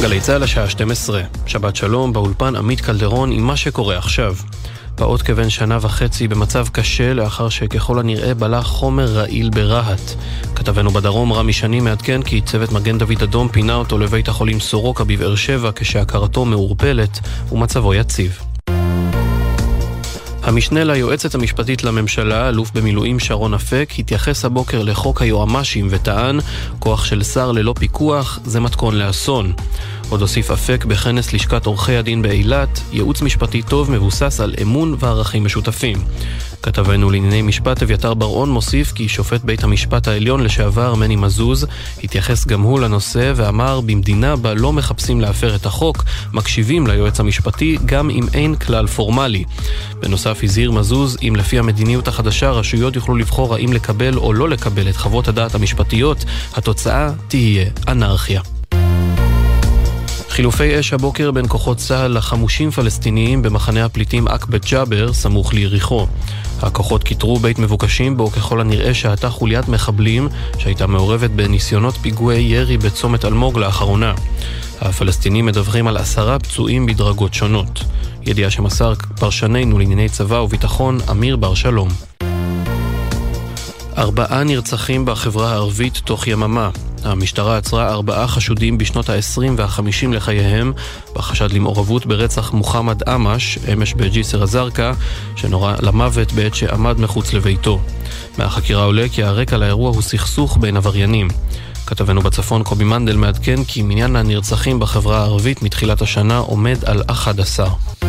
גלי צהל השעה 12. שבת שלום, באולפן עמית קלדרון עם מה שקורה עכשיו. פעוט כבן שנה וחצי במצב קשה לאחר שככל הנראה בלע חומר רעיל ברהט. כתבנו בדרום רמי שני מעדכן כי צוות מגן דוד אדום פינה אותו לבית החולים סורוקה בבאר שבע כשהכרתו מעורפלת ומצבו יציב. המשנה ליועצת המשפטית לממשלה, אלוף במילואים שרון אפק, התייחס הבוקר לחוק היועמ"שים וטען, כוח של שר ללא פיקוח זה מתכון לאסון. עוד הוסיף אפק בכנס לשכת עורכי הדין באילת, ייעוץ משפטי טוב מבוסס על אמון וערכים משותפים. כתבנו לענייני משפט אביתר בר-און מוסיף כי שופט בית המשפט העליון לשעבר מני מזוז התייחס גם הוא לנושא ואמר במדינה בה לא מחפשים להפר את החוק, מקשיבים ליועץ המשפטי גם אם אין כלל פורמלי. בנוסף הזהיר מזוז אם לפי המדיניות החדשה רשויות יוכלו לבחור האם לקבל או לא לקבל את חוות הדעת המשפטיות, התוצאה תהיה אנרכיה. חילופי אש הבוקר בין כוחות צה"ל לחמושים פלסטיניים במחנה הפליטים עקבת ג'אבר סמוך ליריחו. הכוחות כיתרו בית מבוקשים בו ככל הנראה שהתה חוליית מחבלים שהייתה מעורבת בניסיונות פיגועי ירי בצומת אלמוג לאחרונה. הפלסטינים מדווחים על 10 פצועים בדרגות שונות. ידיעה שמסר פרשננו לענייני צבא וביטחון אמיר בר שלום. 4 נרצחים בחברה הערבית תוך יממה. המשטרה עצרה 4 חשודים בשנות ה-20 וה-50 לחייהם בחשד למעורבות ברצח מוחמד אמש, אמש בג'יסר א-זרקא, שנורה למוות בעת שעמד מחוץ לביתו. מהחקירה עולה כי הרקע לאירוע הוא סכסוך בין עבריינים. כתבנו בצפון קובי מנדל מעדכן כי מניין הנרצחים בחברה הערבית מתחילת השנה עומד על 11.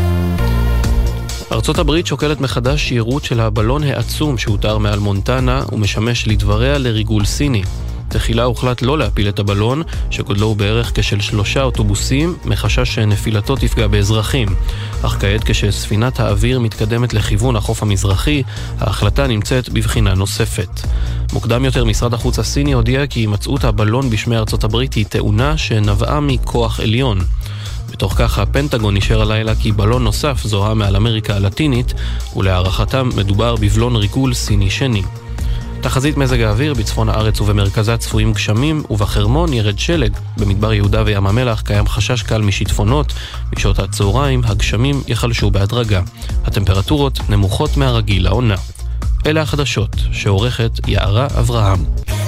ארצות הברית שוקלת מחדש שירות של הבלון העצום שהותר מעל מונטנה ומשמש לדבריה לריגול סיני. תחילה הוחלט לא להפיל את הבלון, שגודלו הוא בערך כשל 3 אוטובוסים, מחשש שנפילתו תפגע באזרחים. אך כעת כשספינת האוויר מתקדמת לכיוון החוף המזרחי, ההחלטה נמצאת בבחינה נוספת. מוקדם יותר משרד החוץ הסיני הודיע כי הימצאות הבלון בשמי ארצות הברית היא טעונה שנבעה מכוח עליון. בתוך כך הפנטגון נשאר הלילה כי בלון נוסף זוהה מעל אמריקה הלטינית, ולהערכתם מדובר בבלון ריגול סיני שני. תחזית מזג האוויר בצפון הארץ ובמרכזה צפויים גשמים, ובחרמון ירד שלג. במדבר יהודה וים המלח קיים חשש קל משיטפונות. בשעות הצהריים הגשמים יחלשו בהדרגה. הטמפרטורות נמוכות מהרגיל לעונה. אלה החדשות שעורכת יערה אברהם.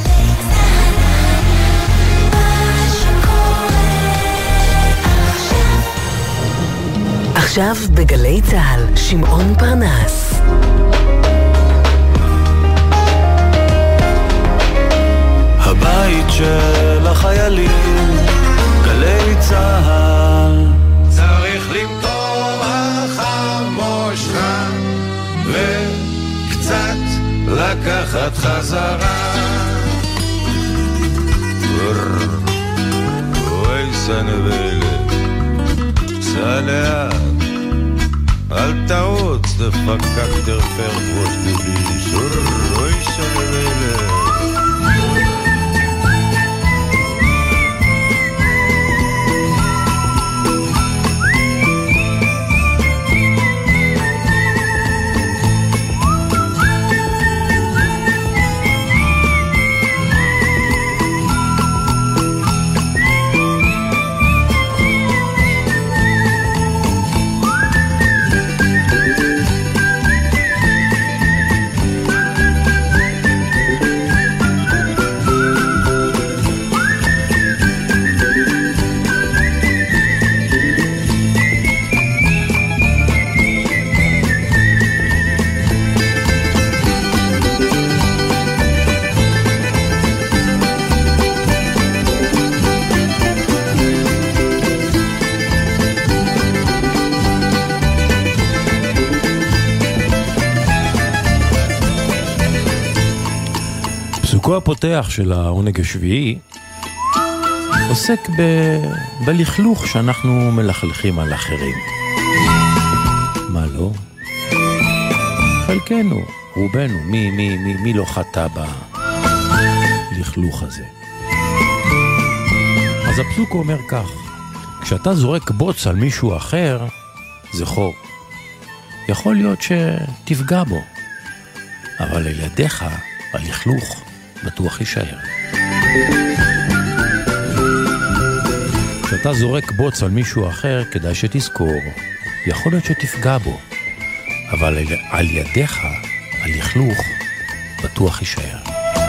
עכשיו בגלי צהל, שמעון פרנס. הבית של החיילים, גלי צהל. צריך למטור החמושך וקצת לקחת חזרה. אוי סנבלת, סע לאט, אל תעוץ דפקק תרפר ראש דביש. אוי סנבלת. פסוקו הפותח של העונג השביעי עוסק בלכלוך שאנחנו מלכלכים על אחרים. מה לא? חלקנו, רובנו, מי לא חטא בלכלוך הזה? אז הפסוק אומר כך: כשאתה זורק בוץ על מישהו אחר, זכור, יכול להיות שתפגע בו, אבל לידיך הלכלוך בטוח יישאר. כשאתה זורק בוץ על מישהו אחר, כדאי שתזכור, יכול להיות שתפגע בו, אבל על ידיך, הלכלוך, בטוח יישאר.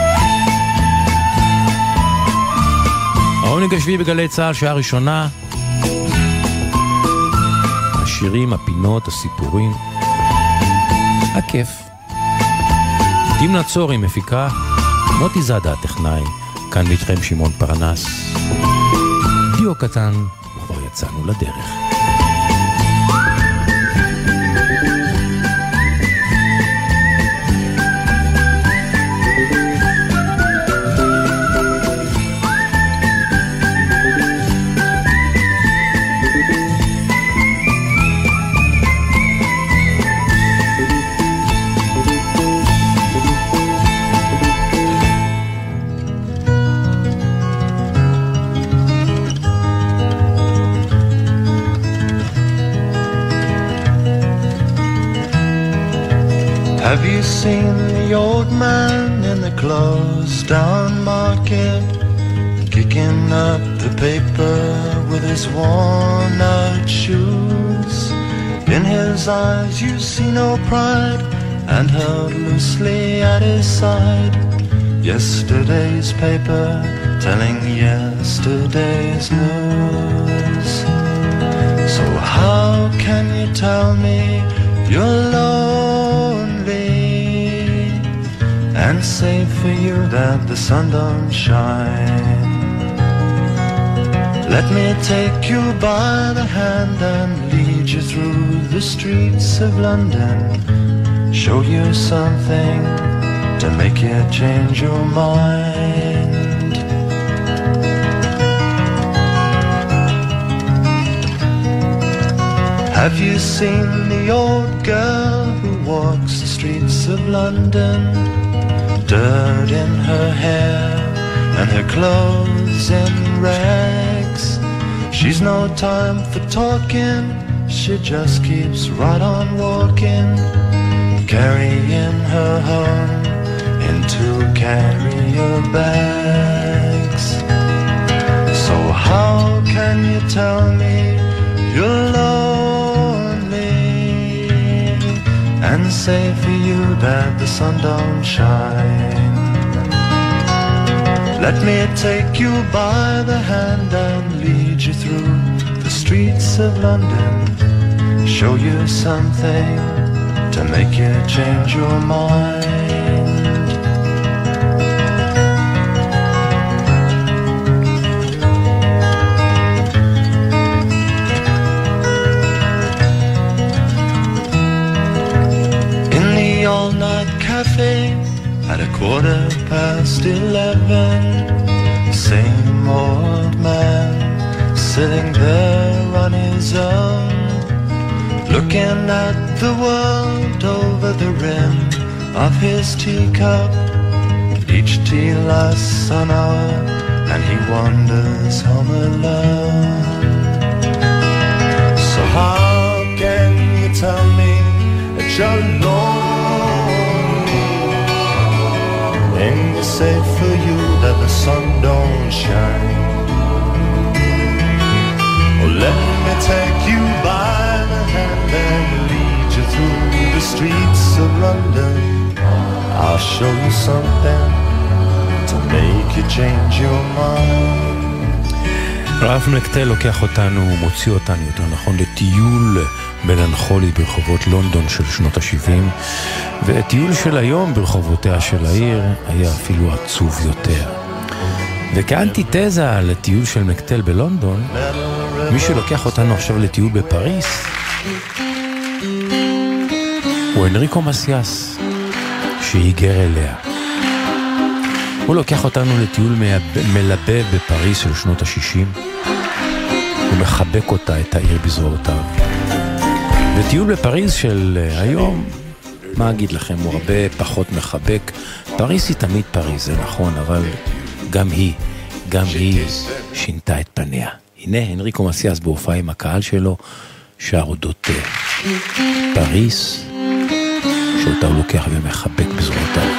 העונג השביעי בגלי צהל, שעה ראשונה. השירים, הפינות, הסיפורים. הכיף. דימנה צורי מפיקה, מוטי זאדה הטכנאי, כאן ואיתכם שמעון פרנס. דיו קטן, וכבר יצאנו לדרך. Have you seen the old man in the closed down market, kicking up the paper with his worn out shoes? In his eyes you see no pride, and held loosely at his side, yesterday's paper telling yesterday's news. So how can you tell me you're lonely, and say for you that the sun don't shine? Let me take you by the hand and lead you through the streets of London, show you something to make you change your mind. Have you seen the old girl who walks the streets of London, dirt in her hair and her clothes in rags? She's no time for talking, she just keeps right on walking, carrying her home in 2 carrier bags. So how can you tell me you're lonely, and say for you that the sun don't shine? Let me take you by the hand and lead you through the streets of London, show you something to make you change your mind. In the all-night cafe at 11:15, same old man sitting there on his own, looking at the world over the rim of his teacup. Each tea lasts an hour and he wanders home alone. So how can you tell me that you're lonely, and you say for you that the sun don't shine? Oh, let me take you by the hand and lead you through the streets of London, I'll show you something to make you change your mind. רלף מקטל לוקח אותנו, מוציא אותנו יותר נכון לטיול מלנכולי ברחובות לונדון של שנות ה-70, וטיול של היום ברחובותיה של העיר היה אפילו עצוב יותר. וכאנטיתזה לטיול של מקטל בלונדון, מי שלוקח אותנו עכשיו לטיול בפריס הוא אנריקו מסיאס, שהיגר אליה. הוא לוקח אותנו לטיול מלבב בפריס של שנות ה-60, הוא מחבק אותה, את העיר בזרועותיו. וטיול בפריס של היום, מה אגיד לכם, הוא הרבה פחות מחבק. פריס היא תמיד פריס, זה נכון, אבל גם היא שינתה את פניה. הנה אנריקו מסיאס בהופעה עם הקהל שלו, שר אודות פריס, שאותה הוא לוקח ומחבק בזרועותיו.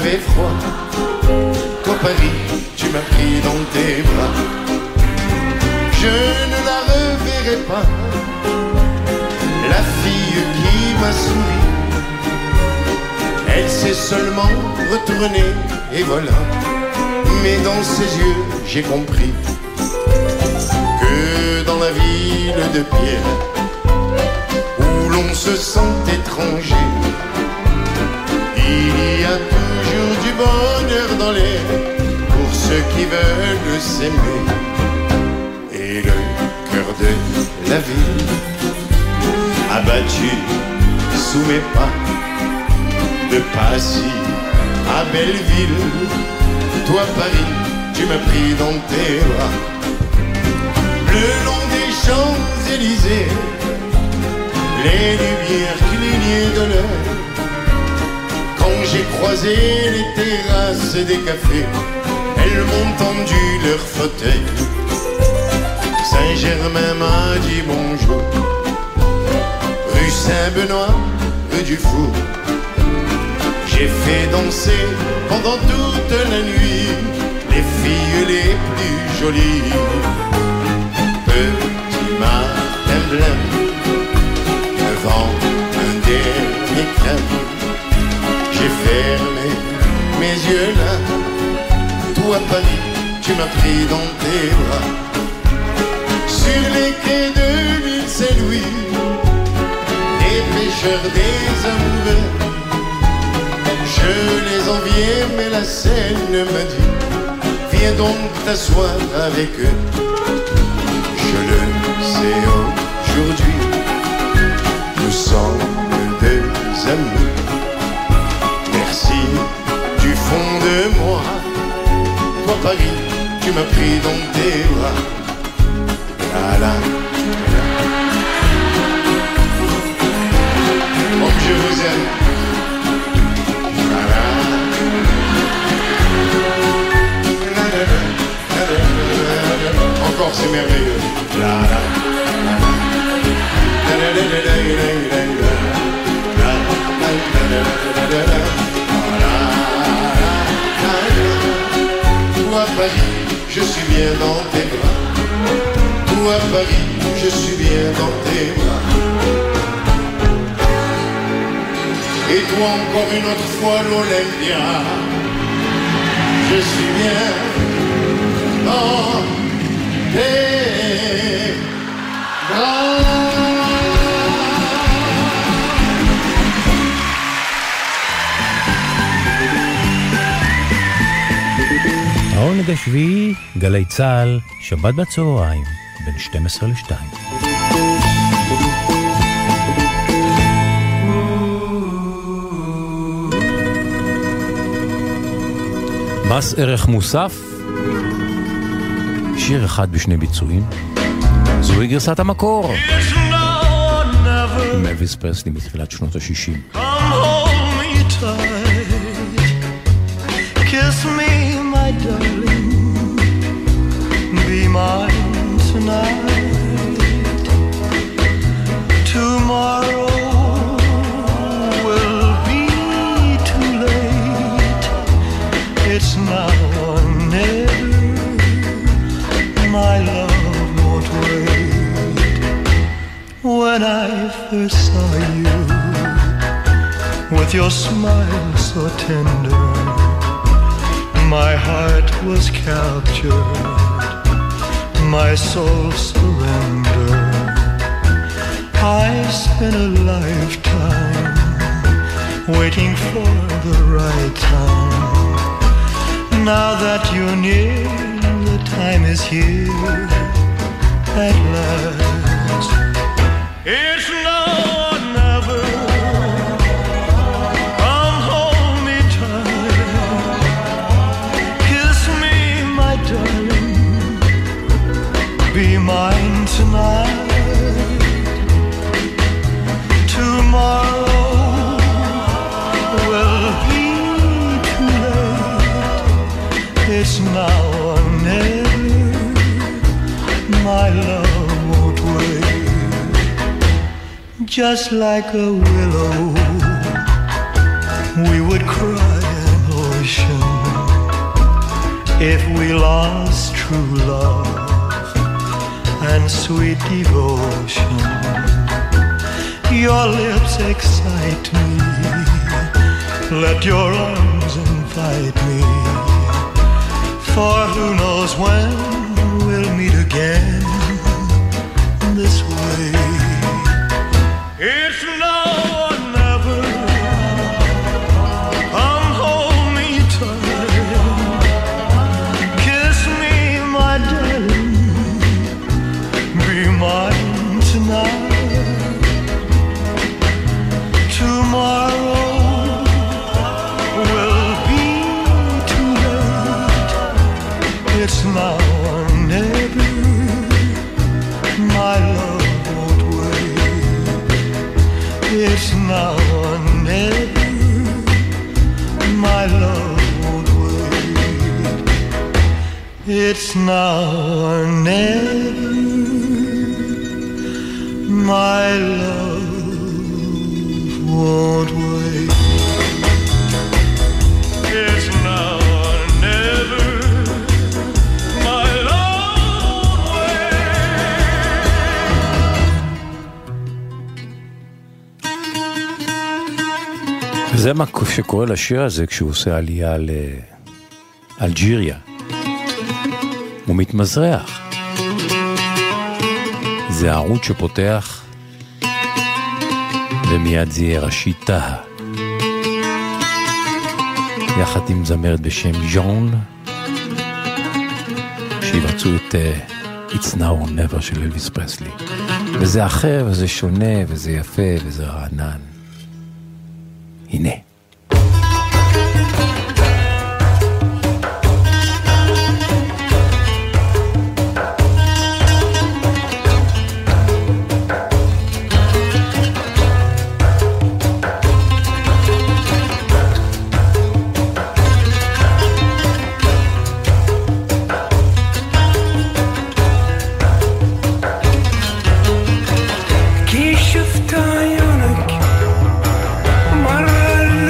fait froid. Toi Paris, tu m'as pris dans tes bras. Je ne la reverrai pas, la fille qui m'a souri. Elle s'est seulement retournée et voilà. Mais dans ses yeux j'ai compris que dans la ville de pierre où l'on se sent étranger, il y a toujours du bonheur dans l'air pour ceux qui veulent s'aimer. Et le cœur de la ville abattu sous mes pas, de Passy à Belleville, toi Paris, tu m'as pris dans tes bras. Le long des Champs-Élysées, les lumières clignaient de l'heure. Quand j'ai croisé les terrasses des cafés, elles m'ont tendu leur fauteuil. Saint-Germain m'a dit bonjour, rue Saint-Benoît, rue du Four. J'ai fait danser pendant toute la nuit les filles les plus jolies. Petit matin blanc devant un dernier crème, j'ai fermé mes yeux là. Toi Paris, tu m'as pris dans tes bras. Sur les quais de l'île Saint-Louis, des pêcheurs, des amoureux, je les enviais, mais la Seine m'a dit viens donc t'asseoir avec eux. Je le sais aujourd'hui, nous sommes deux amis. Merci du fond de moi. Toi Paris, tu m'as pris dans tes bras. La la la. Oh que je vous aime. Encore c'est merveilleux. La la toi Paris, je suis bien dans tes bras. Toi Paris, je suis bien dans tes bras. Et toi encore une autre fois l'Olympia, je suis bien dans tes bras. העונג השביעי, גלי צהל, שבת בצהריים, בין 12 ל-2. מס ערך מוסף, שיר אחד בשני ביצועים, זוהי גרסת המקור. מלוויס פרסלי מתחילת שנות ה-60. Kiss me, my darling, be mine tonight. Tomorrow will be too late. It's now or never, my love won't wait. When I first saw you, with your smile so tender, my heart was captured, my soul surrendered. I spent a lifetime waiting for the right time. Now that you're near, the time is here at last. It's now or never. Come hold me tight. Kiss me, my darling. Be mine tonight. Tomorrow will be too late. It's now or never. My love won't wait. Just like a willow, we would cry an if we lost true love and sweet devotion. Your lips excite me, let your arms invite me, for who knows when we'll meet again this way. It's now or never. Come hold me tight, kiss me, my darling, be mine tonight. Tomorrow will be too late. It's now or never. My love won't wait. It's now or never. My love won't wait. It's now or never. My love won't wait. It's now or never. My love won't wait. וזה מה שקורה לשיר הזה כשהוא עושה עלייה לאלג'יריה. הוא מתמזרח. זה הערוץ שפותח, ומיד זה יהיה ראשית טהה. יחד עם זמרת בשם ז'ון, שיבצעו את It's Now or Never של אלוויס פרסלי. וזה אחר, וזה שונה, וזה יפה, וזה רענן. הנה. كي شفت عيونك مرة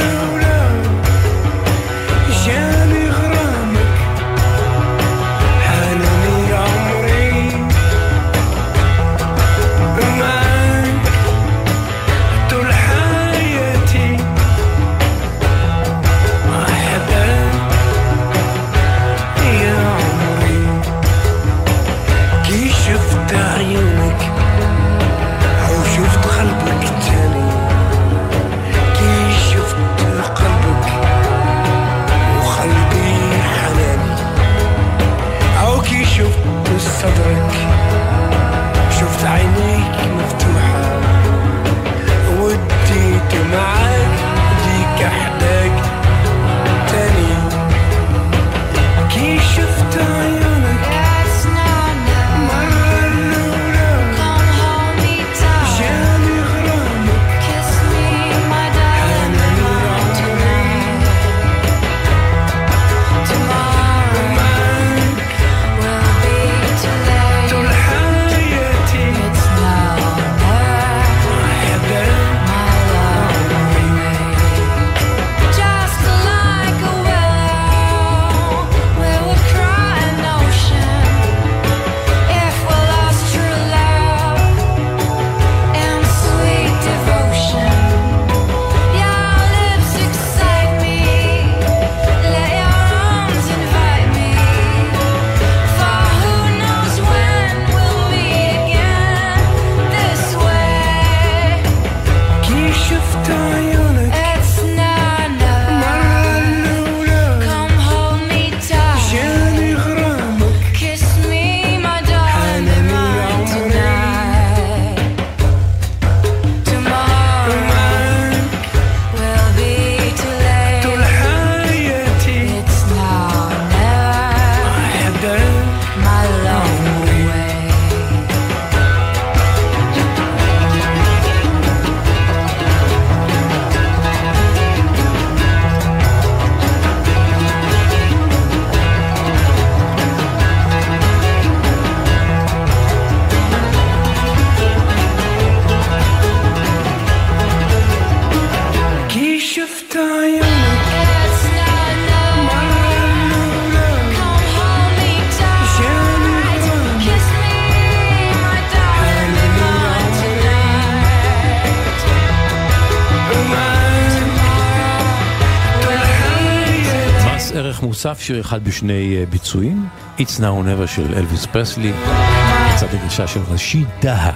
ערך מוסף, שיר אחד בשני ביצועים, It's Now or Never של אלוויס פרסלי, מצד הגרשה של רשיד דהה.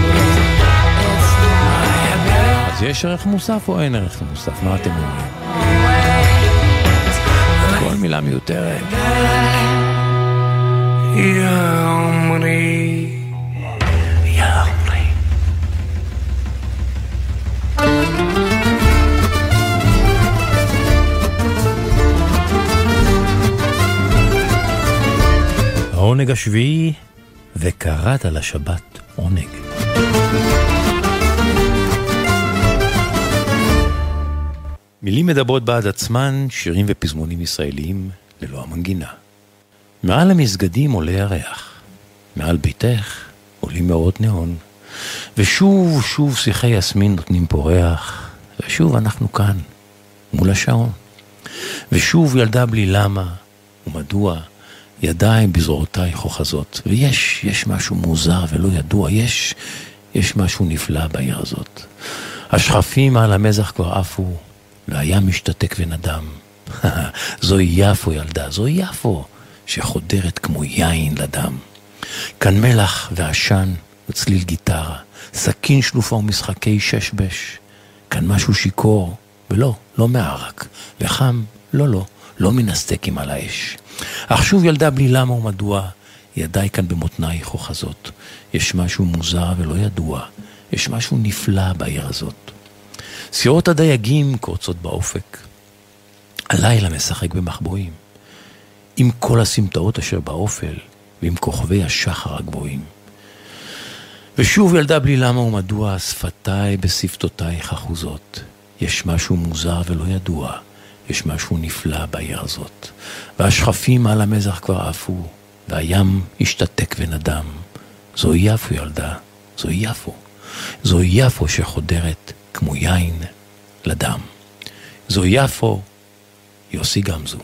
אז יש ערך מוסף או אין ערך מוסף? מה אתם אומרים? כל מילה מיותרת. העונג השביעי, וקראת לשבת עונג. מילים מדברות בעד עצמן, שירים ופזמונים ישראליים ללא המנגינה. מעל המסגדים עולה הריח, מעל ביתך עולים מאורות נאון, ושוב ושוב שיחי יסמין נותנים פה ריח, ושוב אנחנו כאן, מול השעון. ושוב ילדה בלי למה ומדוע, ידיים בזרועותיי חוכזות, ויש משהו מוזר ולא ידוע, יש משהו נפלא בעיר הזאת. השכפים על המזח כבר עפו, והים משתתק ונדם. זוהי יפו ילדה, זוהי יפו, שחודרת כמו יין לדם. כאן מלח ועשן וצליל גיטרה, סכין שלופה ומשחקי ששבש. כאן משהו שיקור, ולא, לא מערק, וחם, לא מן הסטקים על האש. אך שוב ילדה בלי למה ומדוע, ידיי כאן במותניי חוכזות. יש משהו מוזר ולא ידוע, יש משהו נפלא בעיר הזאת. סירות הדייגים קורצות באופק, הלילה משחק במחבואים, עם כל הסמטאות אשר באופל, ועם כוכבי השחר הגבוהים. ושוב ילדה בלי למה ומדוע, שפתיי בשפתותיי חחוזות. יש משהו מוזר ולא ידוע, יש משהו נפלא בעיר הזאת. והשכפים על המזח כבר עפו, והים השתתק ונדם. זוהי יפו ילדה, זוהי יפו. זוהי יפו שחודרת כמו יין לדם. זוהי יפו, יוסי גמזו.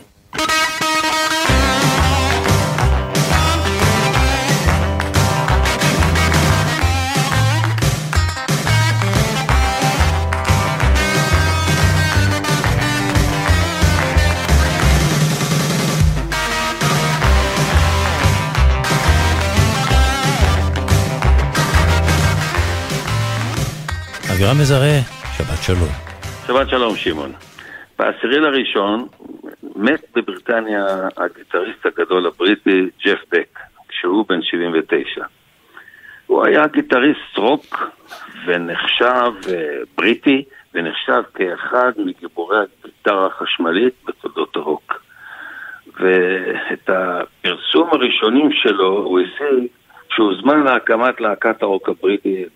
אבירם מזרה, שבת שלום. שבת שלום שמעון. ב10/1 מת בבריטניה הגיטריסט הגדול הבריטי ג'ף בק, כשהוא בן 79. הוא היה גיטריסט רוק ונחשב בריטי, ונחשב כאחד מגיבורי הגיטרה החשמלית בתולדות הרוק. ואת הפרסום הראשונים שלו הוא השיג כשהוא זמן להקמת להקת הרוק הבריטי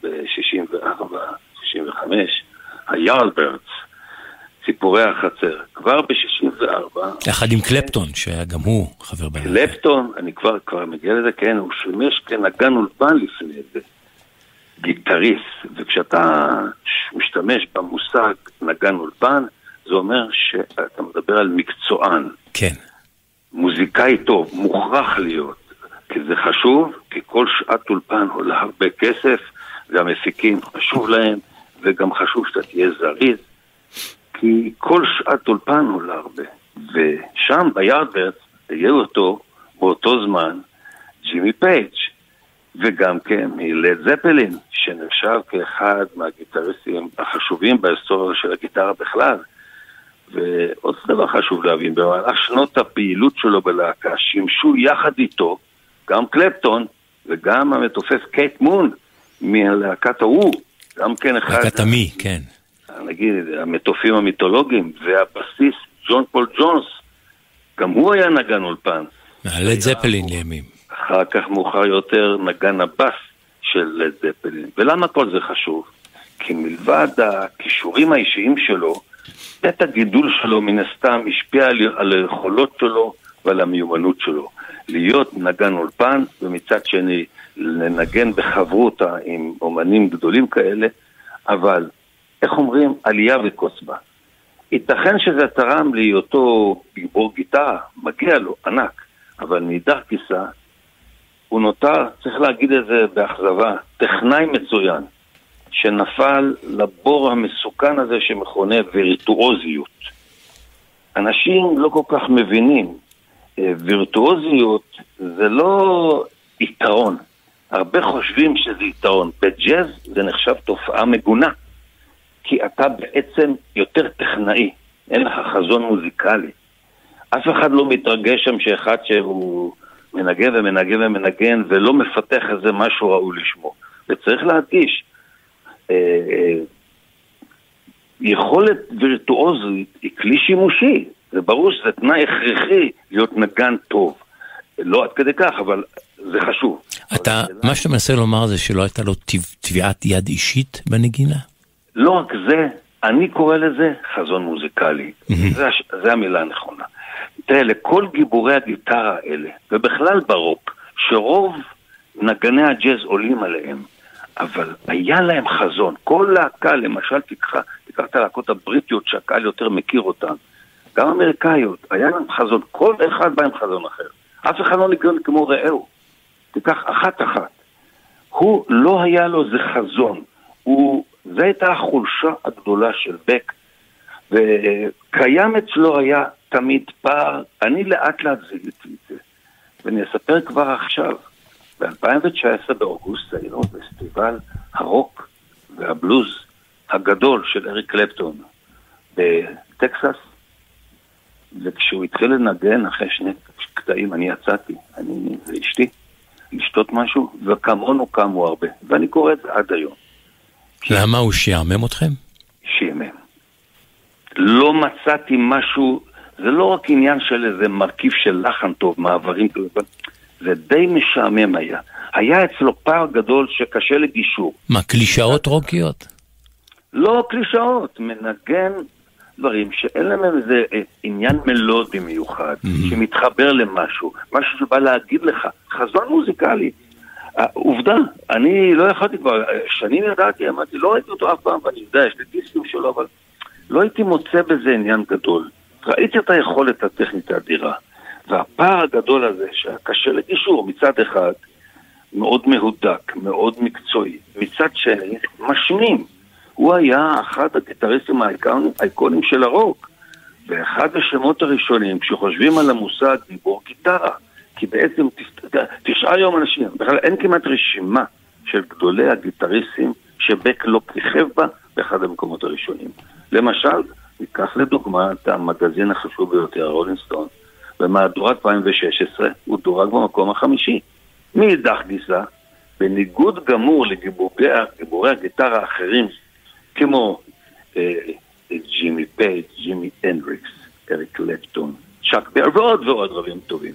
ב-64-65, היארדברדס, ציפורי החצר. כבר ב-64... יחד עם קלפטון, שהיה גם הוא חבר בלהקה. קלפטון, אני כבר מגיע לזה, כן, הוא שימש כנגן אולפן לפני זה, גיטריסט, וכשאתה משתמש במושג נגן אולפן, זה אומר שאתה מדבר על מקצוען. כן. מוזיקאי טוב, מוכרח להיות. כי זה חשוב, כי כל שעת אולפן עולה הרבה כסף, והמפיקים חשוב להם, וגם חשוב שאתה תהיה זריז, כי כל שעת אולפן עולה הרבה. ושם ביארדברדס היה אותו באותו זמן ג'ימי פייג', וגם כן מלד זפלין, שנחשב כאחד מהגיטריסטים החשובים בהיסטוריה של הגיטרה בכלל. ועוד דבר חשוב להבין, במהלך שנות הפעילות שלו בלהקה, שימשו יחד איתו, גם קלפטון וגם המתופף קייט מון מהלהקת ההוא, גם כן אחד... להקת המי, כן. נגיד, המתופים המיתולוגיים, והבסיס ג'ון פול ג'ונס, גם הוא היה נגן אולפן. לד זפלין לימים. אחר כך מאוחר יותר נגן הבס של לד זפלין. ולמה כל זה חשוב? כי מלבד הכישורים האישיים שלו, בית הגידול שלו מן הסתם השפיע על היכולות שלו ועל המיומנות שלו. להיות נגן אולפן, ומצד שני לנגן בחברותה עם אומנים גדולים כאלה, אבל, איך אומרים, עלייה וקוסבה. ייתכן שזה תרם להיותו גיבור גיטרה, מגיע לו, ענק, אבל מאידך גיסא, הוא נותר, צריך להגיד את זה באכזבה, טכנאי מצוין, שנפל לבור המסוכן הזה שמכונה וירטואוזיות. אנשים לא כל כך מבינים. וירטואוזיות זה לא יתרון. הרבה חושבים שזה יתרון. בג'אז זה נחשב תופעה מגונה. כי אתה בעצם יותר טכנאי. אין לך חזון מוזיקלי. אף אחד לא מתרגש שם שאחד שהוא מנגן ומנגן ומנגן ולא מפתח איזה משהו ראוי לשמו. וצריך להדגיש, יכולת וירטואוזית היא כלי שימושי. זה ברור שזה תנאי הכרחי להיות נגן טוב. לא עד כדי כך, אבל זה חשוב. מה שאתה מנסה לומר זה שלא הייתה לו טביעת יד אישית בנגינה? לא רק זה, אני קורא לזה חזון מוזיקלי. זה המילה הנכונה. תראה, לכל גיבורי הגיטרה האלה, ובכלל ברוק, שרוב נגני הג'אז עולים עליהם, אבל היה להם חזון. כל להקה, למשל, תיקח את הלהקות הבריטיות שהקהל יותר מכיר אותן, גם אמריקאיות, היה להם חזון. כל אחד בא עם חזון אחר. אף אחד לא ניגן כמו רעהו. תיקח אחת. הוא לא היה לו זה חזון. זה הייתה החולשה הגדולה של בק, וקיים אצלו היה תמיד פער. אני לאט זיהיתי את זה, ואני אספר כבר עכשיו. ב-2019 באוגוסט היינו פסטיבל הרוק והבלוז הגדול של אריק קלפטון בטקסס, וכשהוא התחיל לנגן אחרי 2 קטעים, אני יצאתי, אני ואשתי, לשתות משהו, וכמונו קמו הרבה, ואני קורא את זה עד היום. למה הוא שיעמם אתכם? שיעמם. לא מצאתי משהו, זה לא רק עניין של איזה מרכיב של לחן טוב, מעברים, זה די משעמם היה. היה אצלו פער גדול שקשה לגישור. מה, קלישאות רוקיות? לא קלישאות, מנגן דברים שאין להם איזה עניין מלודי מיוחד, שמתחבר למשהו, משהו שבא להגיד לך, חזון מוזיקלי. עובדה, אני לא יכולתי כבר, שנים ידעתי, אמרתי, לא ראיתי אותו אף פעם, ואני יודע, יש לי דיסקים שלו, אבל לא הייתי מוצא בזה עניין גדול. ראיתי את היכולת הטכנית האדירה, והפער הגדול הזה, שקשה לגישור, מצד אחד, מאוד מהודק, מאוד מקצועי, מצד שני, משמים. הוא היה אחד הגיטריסטים האיקונים של הרוק, ואחד השמות הראשונים, כשחושבים על המושג גיבור גיטרה, כי בעצם 9 יום אנשים, בכלל אין כמעט רשימה של גדולי הגיטריסטים שבק לא כיכב בה באחד המקומות הראשונים. למשל, ניקח לדוגמה את המגזין החשוב ביותר, רולינג סטון, במהדורת 2016 הוא דורג במקום החמישי. מאידך גיסא, בניגוד גמור לגיבורי הגיטרה האחרים, כמו ג'ימי פייג', ג'ימי הנדריקס, אריק קלפטון, צ'אק בר ועוד רבים טובים.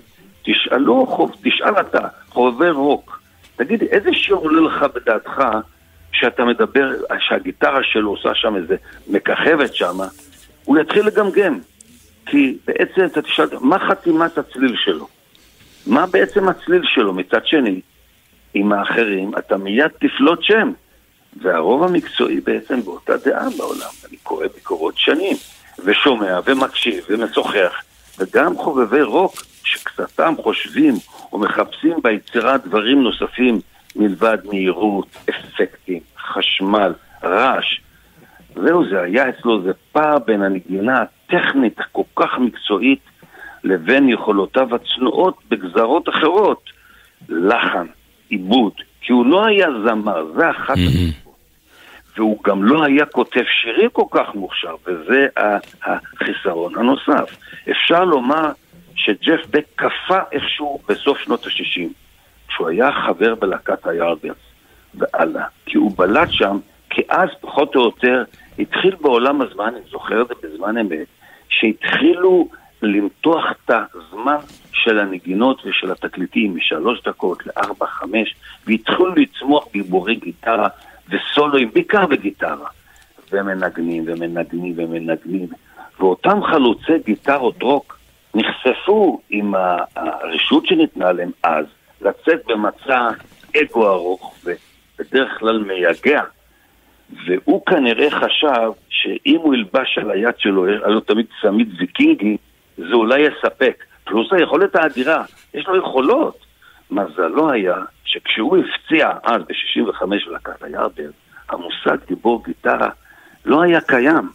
תשאל אתה, חובב רוק, תגיד, איזה שיר עולה לך בדעתך שאתה מדבר, שהגיטרה שלו עושה שם איזה מככבת שם, הוא יתחיל לגמגם. כי בעצם אתה תשאל, מה חתימת הצליל שלו? מה בעצם הצליל שלו? מצד שני, עם האחרים, אתה מיד תפלוט שם. והרוב המקצועי בעצם באותה דעה בעולם. אני קורא ביקורות שנים, ושומע ומקשיב ומשוחח, וגם חובבי רוק שקצתם חושבים או מחפשים ביצירה דברים נוספים מלבד מהירות, אפקטים, חשמל, רעש. זהו, זה היה אצלו, זה פער בין הנגינה הטכנית הכל כך מקצועית לבין יכולותיו הצנועות בגזרות אחרות. לחן, עיבוד, כי הוא לא היה זמר, זה אחת הסיבות. והוא גם לא היה כותב שירים כל כך מוכשר, וזה החיסרון הנוסף. אפשר לומר שג'ף בק קפא איכשהו בסוף שנות ה-60, כשהוא היה חבר בלהקת היארדברס והלאה, כי הוא בלט שם, כי אז פחות או יותר התחיל בעולם הזמן, אני זוכר את זה בזמן אמת, שהתחילו למתוח את הזמן של הנגינות ושל התקליטים מ3 דקות ל4, 5, והתחילו לצמוח גיבורי גיטרה וסולואים, בעיקר בגיטרה, ומנגנים ומנגנים ומנגנים, ואותם חלוצי גיטרות רוק נחשפו עם הרשות שניתנה להם אז, לצאת במצע אגו ארוך ובדרך כלל מייגע, והוא כנראה חשב שאם הוא ילבש על היד שלו, היה לו תמיד צמיד ויקינגי, זה אולי יספק. פלוס היכולת האדירה, יש לו יכולות. מזלו היה שכשהוא הפציע אז ב-65 ולקת היארדברס, המושג גיבור גיטרה לא היה קיים.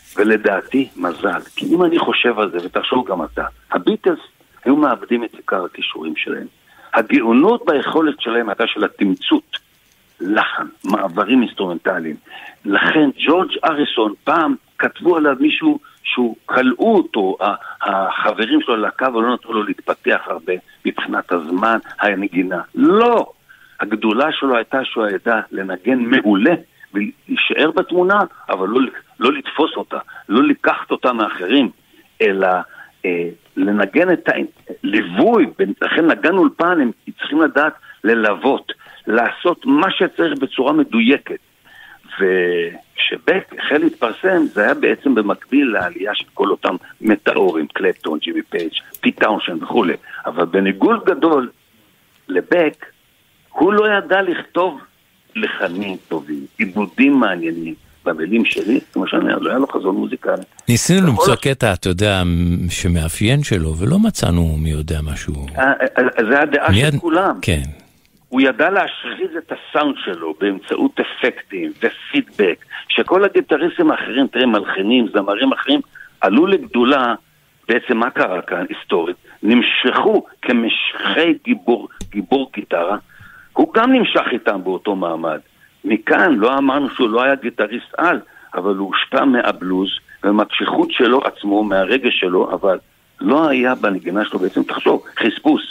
ולדעתי מזל, כי אם אני חושב על זה, ותחשוב גם אתה, הביטלס היו מאבדים את עיקר הכישורים שלהם. הגאונות ביכולת שלהם הייתה של התמצות, לחן, מעברים אינסטרומנטליים. לכן ג'ורג' אריסון פעם כתבו עליו מישהו שהוא קלעו אותו, החברים שלו לקו ולא נתנו לו להתפתח הרבה מבחינת הזמן, הנגינה. לא! הגדולה שלו הייתה שהוא ידע לנגן מעולה ולהישאר בתמונה, אבל לא לתפוס אותה, לא לקחת אותה מאחרים, אלא לנגן את הליווי. לכן נגן אולפן, הם צריכים לדעת ללוות, לעשות מה שצריך בצורה מדויקת. וכשבק החל להתפרסם, זה היה בעצם במקביל לעלייה של כל אותם מטאורים, קלפטון, ג'ימי פייג', פיט טאונשנד וכו'. אבל בניגוד גדול לבק, הוא לא ידע לכתוב לחנים טובים, עיבודים מעניינים. במילים שלי, כמו שאני אומר, לא היה לו חזון מוזיקלי. ניסינו למצוא קטע, אתה יודע, שמאפיין שלו, ולא מצאנו מי יודע משהו. זה הדעה של כולם. כן. הוא ידע להשחיז את הסאונד שלו באמצעות אפקטים ופידבק, שכל הגיטריסטים האחרים, תראה, מלחינים, זמרים אחרים, עלו לגדולה, בעצם מה קרה כאן, היסטורית, נמשכו כמשכי גיבור גיטרה, הוא גם נמשך איתם באותו מעמד. מכאן לא אמרנו שהוא לא היה גיטריסט על, אבל הוא הושפע מהבלוז ומהקשיחות שלו עצמו, מהרגש שלו, אבל לא היה בנגינה שלו בעצם, תחשוב, חספוס.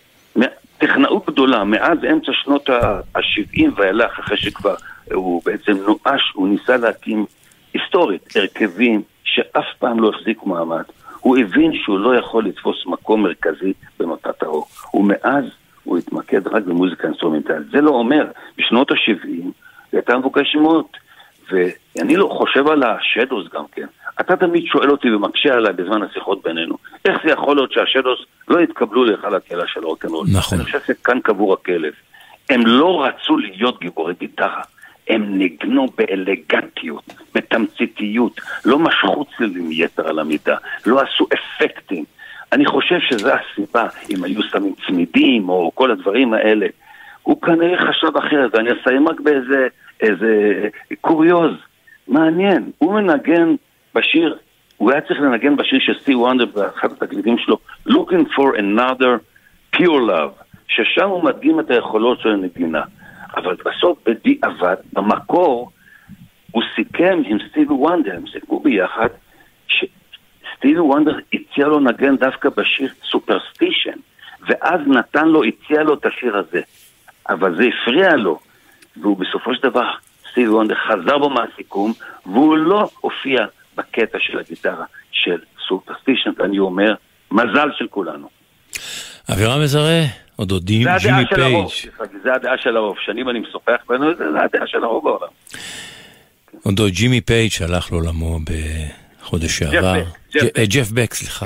טכנאות גדולה, מאז אמצע שנות ה-70 ואילך, אחרי שכבר הוא בעצם נואש, הוא ניסה להקים היסטורית, הרכבים שאף פעם לא החזיקו מעמד. הוא הבין שהוא לא יכול לתפוס מקום מרכזי בנוטת הרוק. ומאז הוא התמקד רק במוזיקה אינסטרומנטלית. זה לא אומר, בשנות ה-70 זה הייתה מבוקש מאוד, ואני לא חושב על השדוס גם כן. אתה תמיד שואל אותי ומקשה עליי בזמן השיחות בינינו, איך זה יכול להיות שהשדוס לא התקבלו להיכל הקהילה של רוקנרול? נכון. אני חושב שכאן קבור הכלב. הם לא רצו להיות גיבורי גיטרה, הם נגנו באלגנטיות, בתמציתיות, לא משכו צלילים יתר על המידה, לא עשו אפקטים. אני חושב שזו הסיבה, אם היו שמים צמידים או כל הדברים האלה, הוא כנראה חשב אחרת, ואני אסיים רק באיזה קוריוז, מעניין, הוא מנגן בשיר, הוא היה צריך לנגן בשיר של סטיב וונדר באחד התקליטים שלו, Looking for Another Pure Love, ששם הוא מדגים את היכולות של הנגינה, אבל בסוף בדיעבד, במקור, הוא סיכם עם סטיב וונדר, הם סיכמו ביחד, סטיב וונדר הציע לו נגן דווקא בשיר סופרסטישן, ואז נתן לו, הציע לו את השיר הזה, אבל זה הפריע לו, והוא בסופו של דבר, סטיב וונדר חזר בו מהסיכום, והוא לא הופיע בקטע של הגיטרה של סופרסטישן, ואני אומר, מזל של כולנו. אבירם מזרה, אודודים, ג'ימי פייג'. זה הדעה של הרוב, שנים אני משוחח בנו, זה הדעה של הרוב בעולם. אודו ג'ימי פייג' שהלך לעולמו בחודש שעבר. ג'ף בק, סליחה.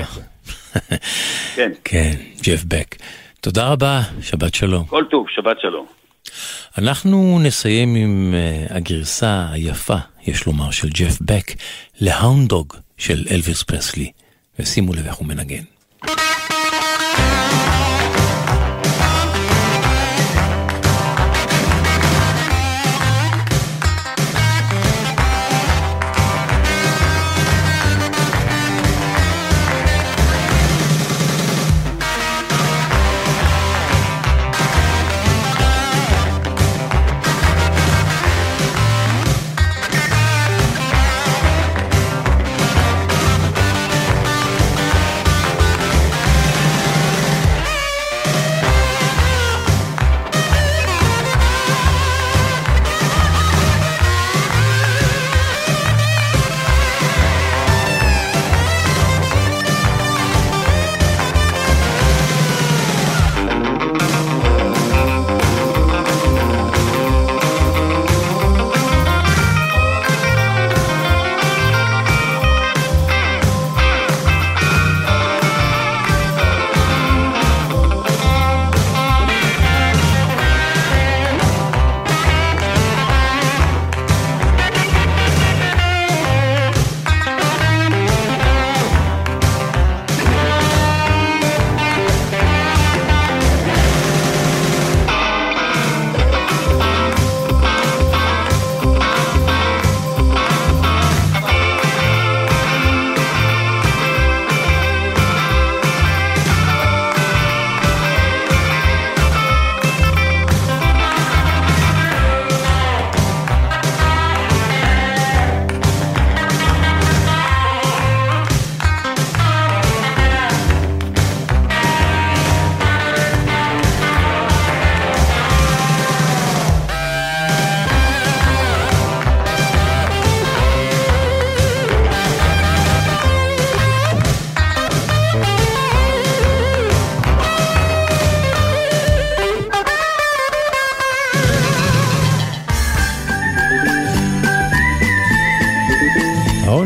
כן, ג'ף בק. תודה רבה, שבת שלום. כל טוב, שבת שלום. אנחנו נסיים עם הגרסה היפה, יש לומר, של ג'ף בק, להאונד דוג של אלוויס פרסלי. ושימו לב איך הוא מנגן. Thank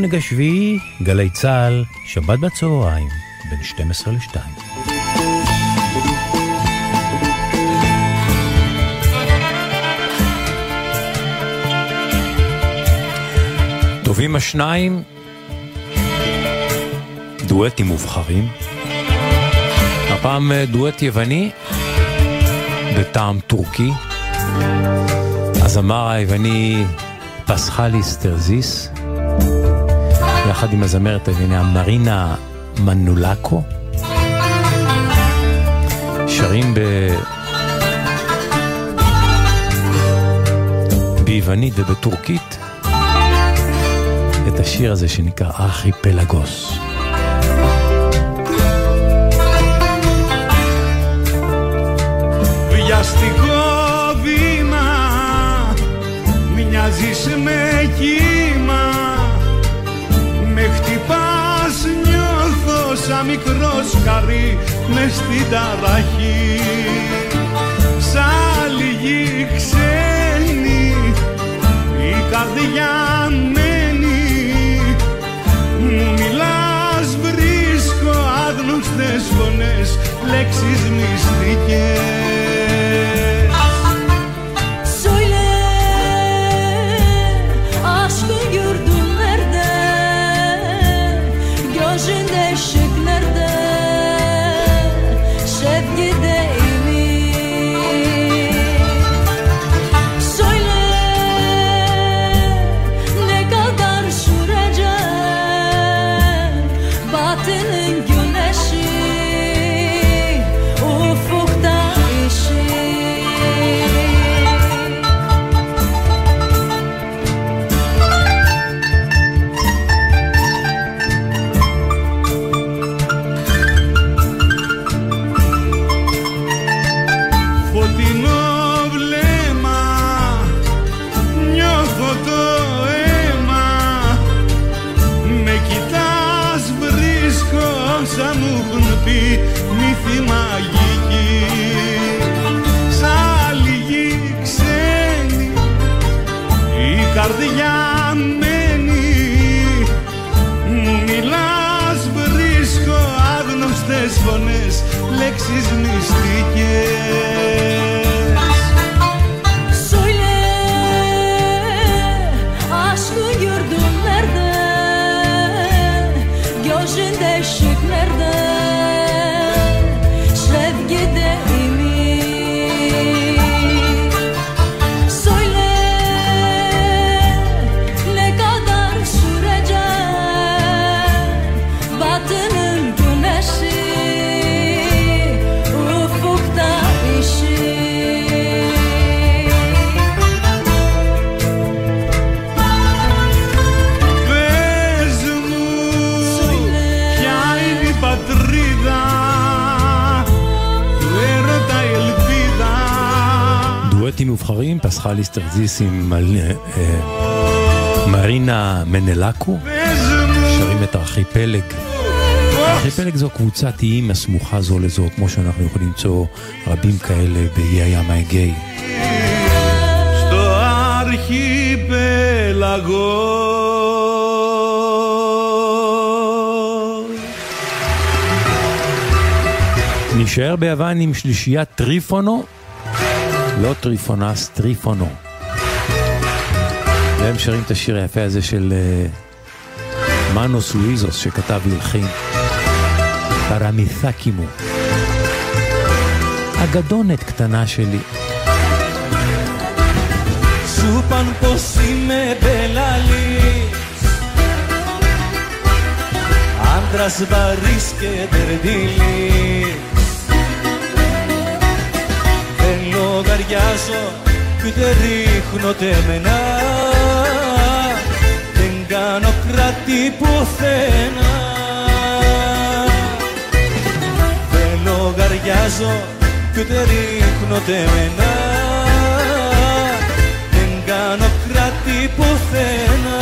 העונג השביעי, גלי צהל, שבת בצהריים, בין 12 ל-2. טובים השניים, דואטים מובחרים. הפעם דואט יווני, בטעם טורקי. הזמר היווני פסחליס טרזיס, יחד עם הזמרת היווניה מרינה מנולקו, שרים ביוונית ובטורקית את השיר הזה שנקרא ארכיפלגוס. Βιαστικό βήμα, μοιάζεις με κύμα, με χτυπάς, νιώθω σαν μικρό σκαρί μες στην ταραχή. Σαν λίγη ξένη η καρδιά μένει, μου μιλάς, βρίσκω άγνωστες φωνές, λέξεις μυστικές. Λέξεις μυστικές. Söyle aşkı gördüm nerede, gözünde ışık nerede, sevgide ümit. Söyle ne kadar sürecek batının güneşi. דואטים מובחרים, פסחליס טרזיס עם מרינה מנלקו, שרים את ארכיפלג. ארכיפלג זו קבוצת איים הסמוכה זו לזו, כמו שאנחנו יכולים למצוא רבים כאלה באיי הים האגאי. Στο αρχιπέλαγο נשאר ביוון עם שלישיית טריפונו, לא טריפונס, טריפונו. והם שרים את השיר היפה הזה של מנוס לואיזוס שכתב והלחין, פרמיתקימו. אגדונת קטנה שלי. Σου παν πως είμαι μπελαλής, άντρας βαρύς και τερδίλης. Δεν λογαριάζω κι ούτε ρίχνω τεμενά, δεν κάνω κράτη πουθενά. Δεν λογαριάζω κι ούτε ρίχνω τεμενά, δεν κάνω κράτη πουθενά.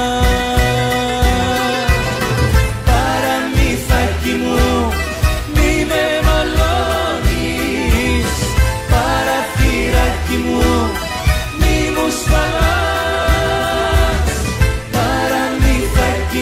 Παραμύθακι μου μη με μαλώνεις, παραθύρακι μου μη μου σφαλάς. Παραμύθακι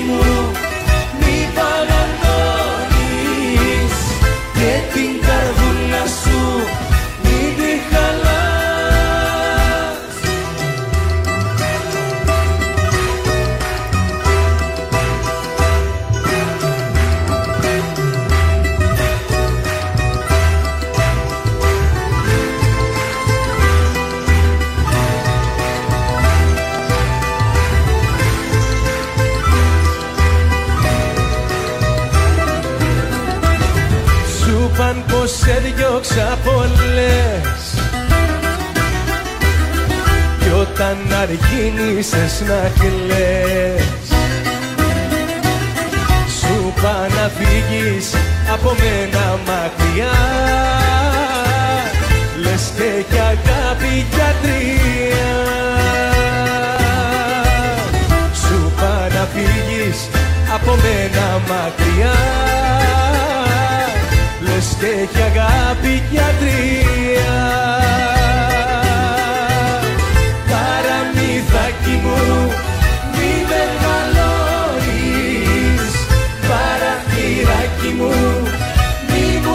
πως σε διώξα πολλές κι όταν αργήνησες να κλαις σου πά να φύγεις από μένα μακριά λες και κι αγάπη γιατρία σου πά να φύγεις από μένα μακριά λες και κι αγάπη γιατρία παραμύθακι μου μη με μαλώνεις παραθυράκι μου μη μου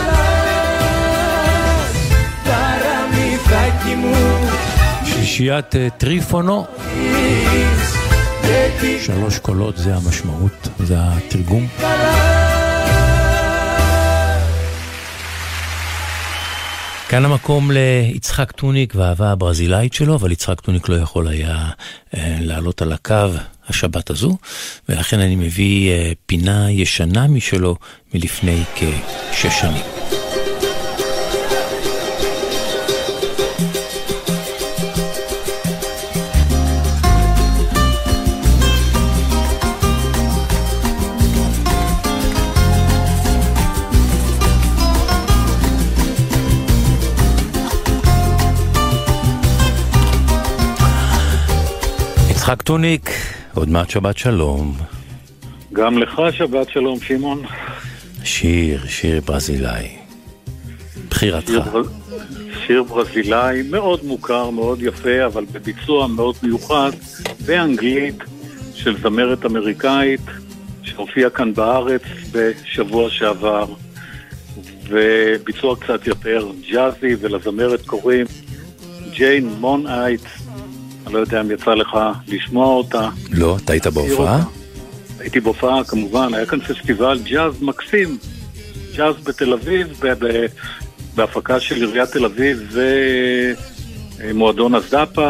σφαλάς παραμύθακι μου שלישיית טריפונו, 3 קולות זה המשמעות, זה התרגום. כאן המקום ליצחק טוניק והאהבה הברזילאית שלו, אבל יצחק טוניק לא יכול היה לעלות על הקו השבת הזו, ולכן אני מביא פינה ישנה משלו מלפני כ6 שנים. יצחק טוניק, עוד מעט שבת שלום. גם לך שבת שלום, שמעון. שיר ברזילאי. בחירתך. שיר ברזילאי מאוד מוכר, מאוד יפה, אבל בביצוע מאוד מיוחד, באנגלית של זמרת אמריקאית, שהופיעה כאן בארץ בשבוע שעבר, וביצוע קצת יותר ג'אזי, ולזמרת קוראים ג'יין מונייט. אני לא יודע אם יצא לך לשמוע אותה. לא, אתה היית בהופעה? הייתי בהופעה, כמובן. היה כאן פסטיבל ג'אז מקסים. ג'אז בתל אביב, בהפקה של עיריית תל אביב ומועדון הזדפה.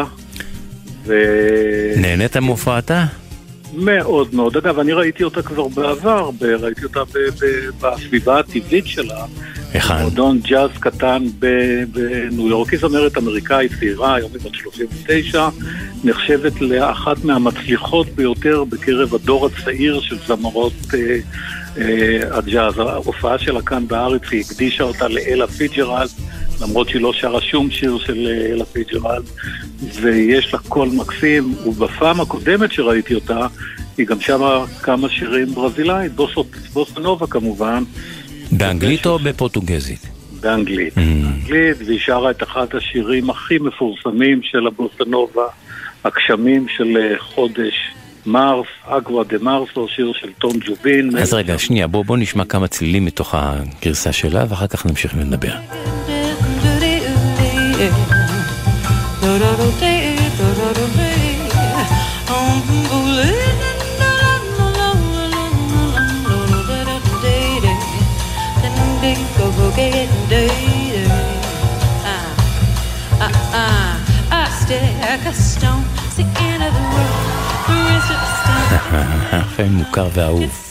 נהנית מהופעתה? מאוד מאוד. אגב, אני ראיתי אותה כבר בעבר, ראיתי אותה בסביבה הטבעית שלה. מועדון ג'אז קטן בניו יורק. היא זמרת אמריקאית צעירה, היום היא בת 39, נחשבת לאחת מהמצליחות ביותר בקרב הדור הצעיר של זמרות הג'אז. ההופעה שלה כאן בארץ, היא הקדישה אותה לאלה פיג'רלד, למרות שהיא לא שרה שום שיר של אלה פיג'רלד, ויש לה קול מקסים, ובפעם הקודמת שראיתי אותה, היא גם שרה כמה שירים ברזילאית, בוסנובה כמובן. באנגלית או בפורטוגזית? באנגלית. באנגלית, והיא שרה את אחד השירים הכי מפורסמים של הבוסנובה, הגשמים של חודש מרס, אגווה דה מרסו, שיר של טום ג'ובין. אז רגע, שנייה, בוא נשמע כמה צלילים מתוך הגרסה שלה, ואחר כך נמשיך ונדבר. חיים מוכר ואהוב.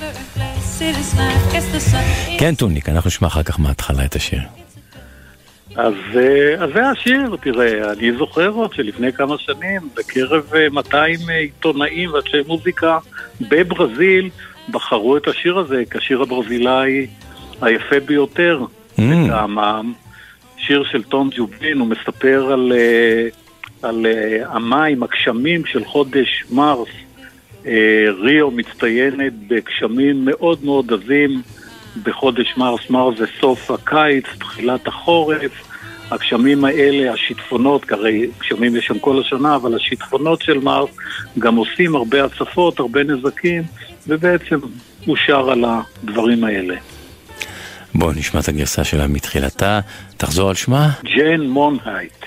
כן, טוניק, אנחנו נשמע אחר כך מההתחלה את השיר. אז זה השיר, תראה, אני זוכר עוד שלפני כמה שנים בקרב 200 עיתונאים ואנשי מוזיקה בברזיל בחרו את השיר הזה כשיר הברזילאי היפה ביותר מטעמם. שיר של טום ג'ובין, הוא מספר על המים, הגשמים של חודש מרס. ריו מצטיינת בגשמים מאוד מאוד עזים בחודש מרס. מרס זה סוף הקיץ, תחילת החורף. הגשמים האלה, השיטפונות, הרי גשמים יש שם כל השנה, אבל השיטפונות של מרס גם עושים הרבה הצפות, הרבה נזקים, ובעצם הוא שר על הדברים האלה. בואו נשמע את הגרסה שלה מתחילתה. תחזור על שמה? ג'יין מונייט.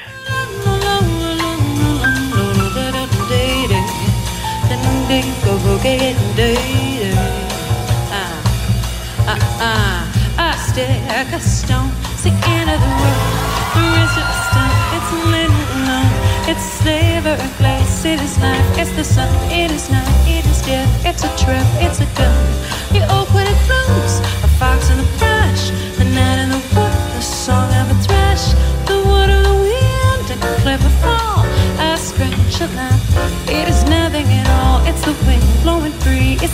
It's flavor and place, it is life, it's the sun, it is night, it is death, it's a trap, it's a gun. You open it close, a fox in the brush, the night and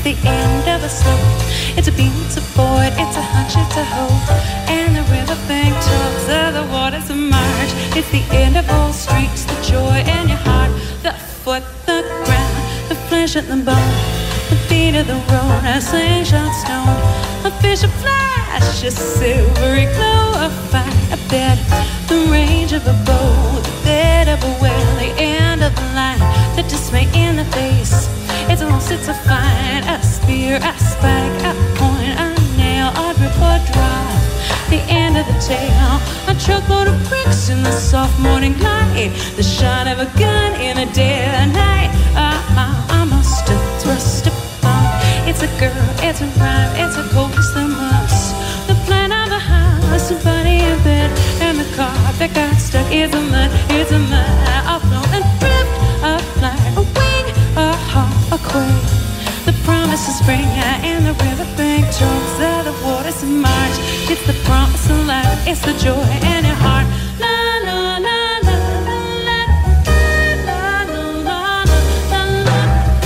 the end of a slope. It's a beam, it's a void, it's a hunch, it's a hope. And the riverbank talks of the waters of March. It's the end of all streets, the joy in your heart, the foot, the ground, the flesh and the bone, the feet of the road, a slingshot stone, a fish, a flash, a silvery glow, a fire, a bed, the range of a bow, the bed of a well, the end of the line, the dismay in the face. It's a loss, it's a find, a spear, a spike, a point, a nail, a grip, a drive, the end of the tail, a truckload of bricks in the soft morning light, the shot of a gun in the dead of night. I must have thrust a bomb. It's a girl, it's a rhyme, it's a cold, it's the must. The plan of the house, the body in bed, and the car that got stuck is a mud, it's a mud. I'll float and drift, a fly, a wing, a hawk, a quake. The promise of spring and the riverbank talks of the waters of March. It's the promise of life, it's the joy in your heart. La la la la la la la la la la la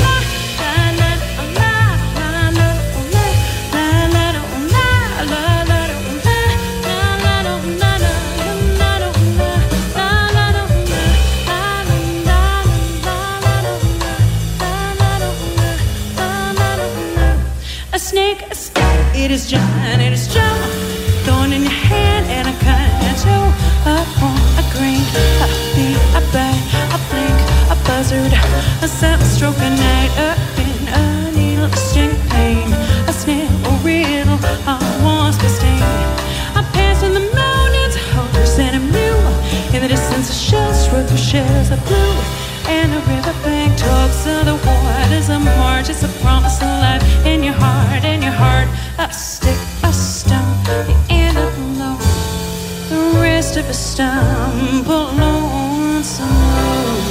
it is John, it is Joe, thorn in your hand and a kind of toe, upon a grain, a beat, a bite, a blink, a buzzard, a sound stroke, a night, a pin, a needle, a sting, pain, a snail, a riddle, a wasp, a sting. I pass in the mountains, a horse and a mule, in the distance a shell struck through shells of blue, and the riverbank talks of the waters of March. It's a promise of life in your heart, in your heart. A stick, a stone, the end of the load, the rest of a stumble lonesome road.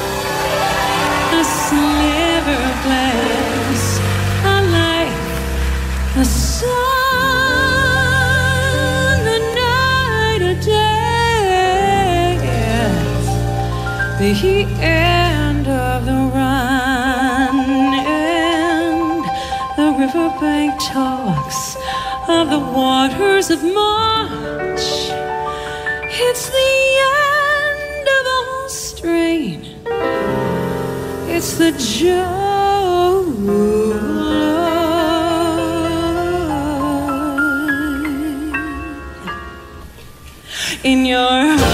A sliver of glass, a light, a sun, the night, a death, the end of the run, and the riverbank talks of the waters of March. It's the end of all strain, it's the joy in your heart.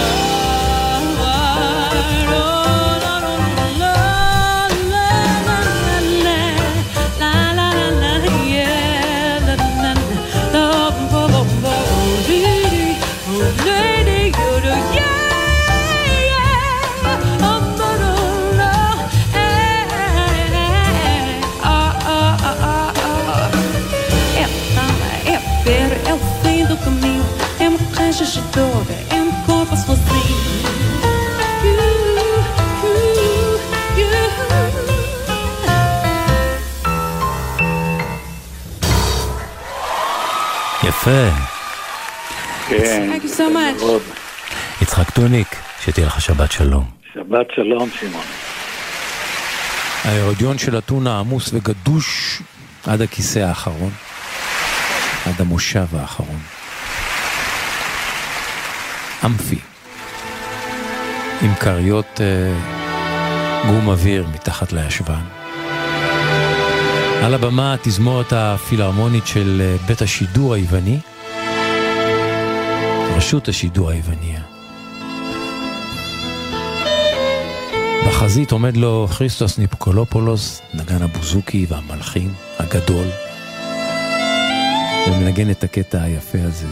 É corpo sozinho. יפה. כן. Thank you so much. יצחק טוניק, שתהיה לך שבת שלום. שבת שלום, שמעון. הארודיון של אתונה עמוס וגדוש עד הכיסא האחרון, עד המושב האחרון. אמפי, עם קריות גום אוויר מתחת לישבן. על הבמה התזמורת הפילהרמונית של בית השידור היווני, רשות השידור היווניה. בחזית עומד לו כריסטוס ניקולופולוס, נגן הבוזוקי והמלחין הגדול, ומנגן את הקטע היפה הזה,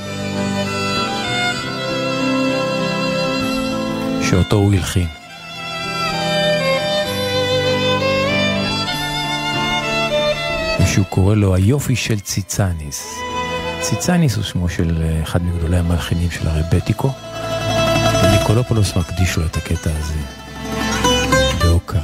שאותו הוא הלחין. ושהוא קורא לו היופי של ציצניס. ציצניס הוא שמו של אחד מגדולי המלחינים של הרבטיקו, וניקולופולוס מקדיש לו את הקטע הזה בהוקרה.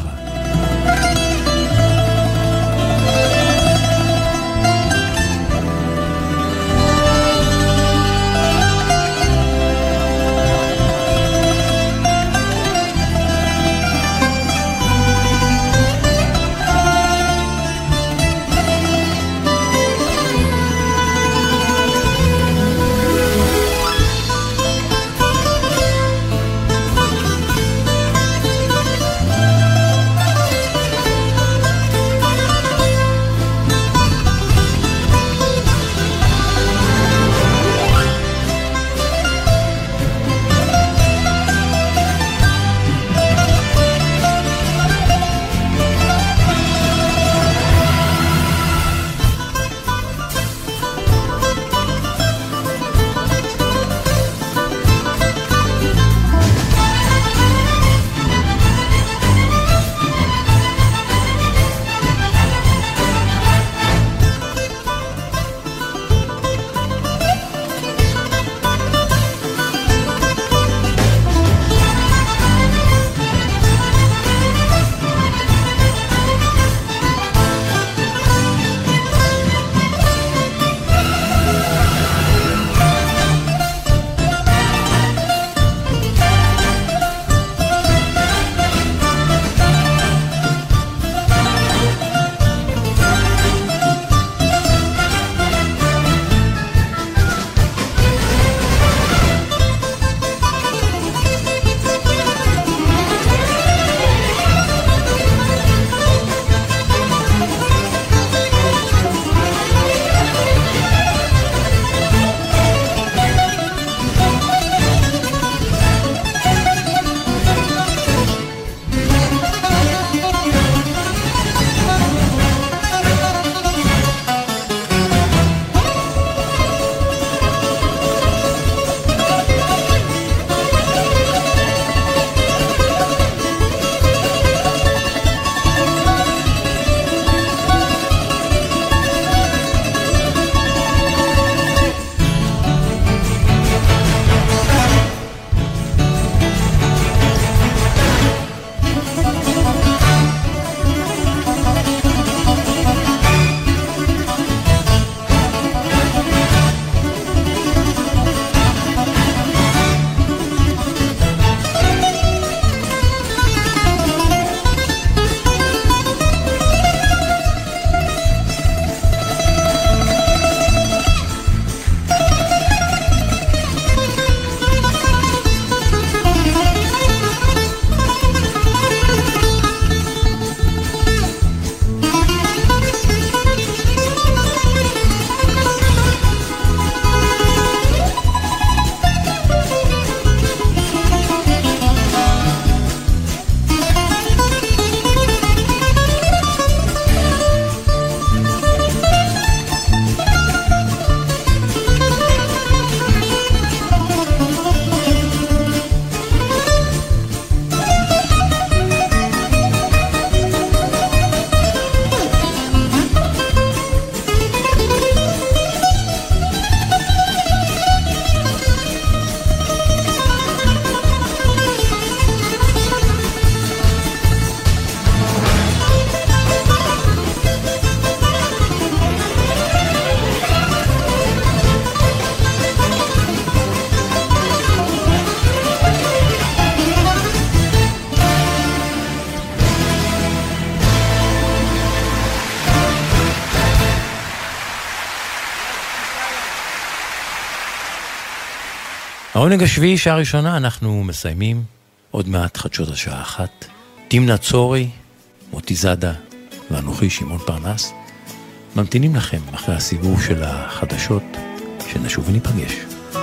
העונג השביעי, שעה ראשונה, אנחנו מסיימים עוד מעט חדשות השעה 1. תמנה צורי, מוטי זאדה ואנוכי שמעון פרנס ממתינים לכם אחרי הסיבוב של החדשות, שנשוב וניפגש.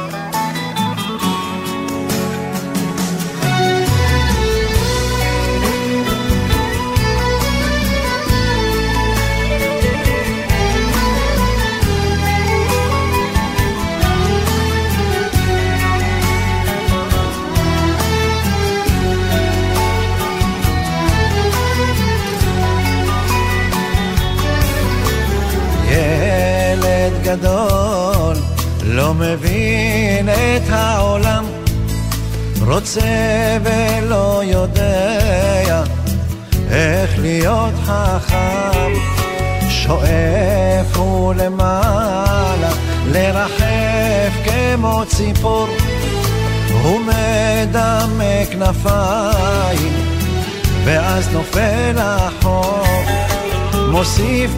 גדול לא מבין את העולם, רוצה ולא יודע איך להיות חכם, שואף הוא למעלה לרחף כמו ציפור, הוא מדמה כנפיים ואז נופל החוק, מוסיף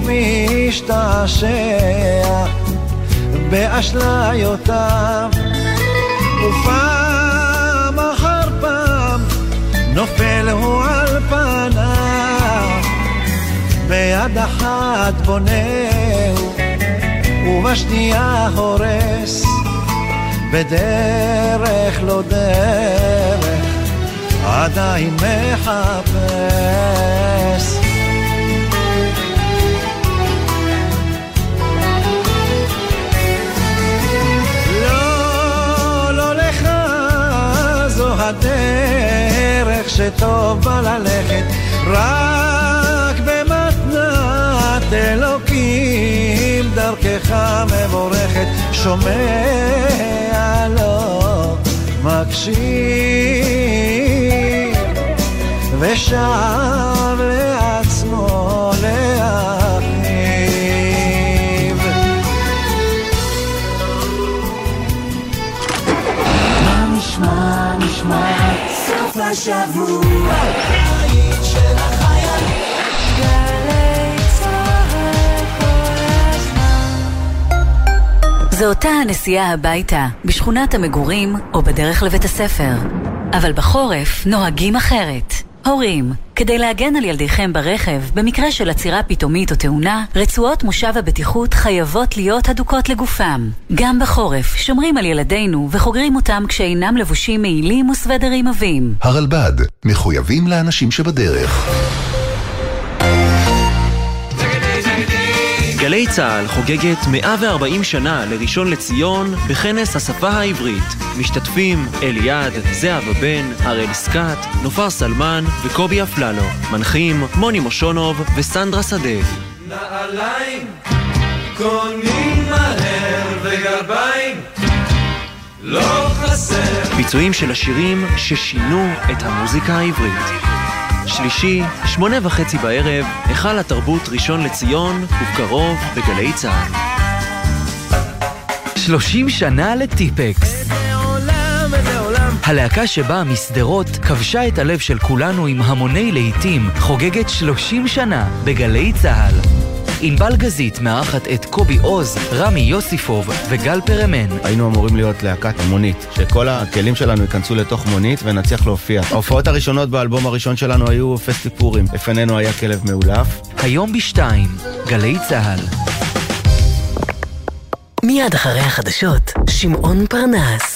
משתעשע באשליותיו, ופעם אחר פעם נופל הוא על פניו, ביד אחת בונהו ובשנייה הורס, בדרך לא דרך עדיין מחפש. הדרך שטוב בה ללכת, רק במתנת אלוקים דרכך מבורכת, שומע לו מקשיב ושב לעצמו להחליב. מה נשמע נשמע סוף השבוע היית של החייל גלי צהל כל הזמן. זו אותה הנסיעה הביתה בשכונת המגורים או בדרך לבית הספר, אבל בחורף נוהגים אחרת. הורים, כדי להגן על ילדיכם ברכב במקרה של עצירה פתאומית או תאונה, רצועות מושב הבטיחות חייבות להיות הדוקות לגופם. גם בחורף שומרים על ילדינו וחוגרים אותם כשאינם לבושים מעילים וסוודרים עבים. הרלב"ד, מחויבים לאנשים שבדרך. גלי צהל חוגגת 140 שנה לראשון לציון בכנס השפה העברית. משתתפים אליעד, זהבה בן, הראל סקאט, נופר סלמן וקובי אפללו. מנחים מוני מושונוב וסנדרה שדה. נעליים קונים מהר וגרביים לא חסר. ביצועים של השירים ששינו את המוזיקה העברית. שלישי, 8:30 בערב, היכל התרבות ראשון לציון, ובקרוב בגלי צהל. 30 שנה לטיפקס. הלהקה שבאה מסדרות כבשה את הלב של כולנו עם המוני להיטים, חוגגת 30 שנה בגלי צהל. ענבל גזית מארחת את קובי עוז, רמי יוסיפוב וגל פרמן. היינו אמורים להיות להקת מונית, שכל הכלים שלנו ייכנסו לתוך מונית ונצליח להופיע. ההופעות הראשונות באלבום הראשון שלנו היו פסטיפורים. לפנינו היה כלב מאולף. היום ב2, גלי צהל. מיד אחרי החדשות, שמעון פרנס.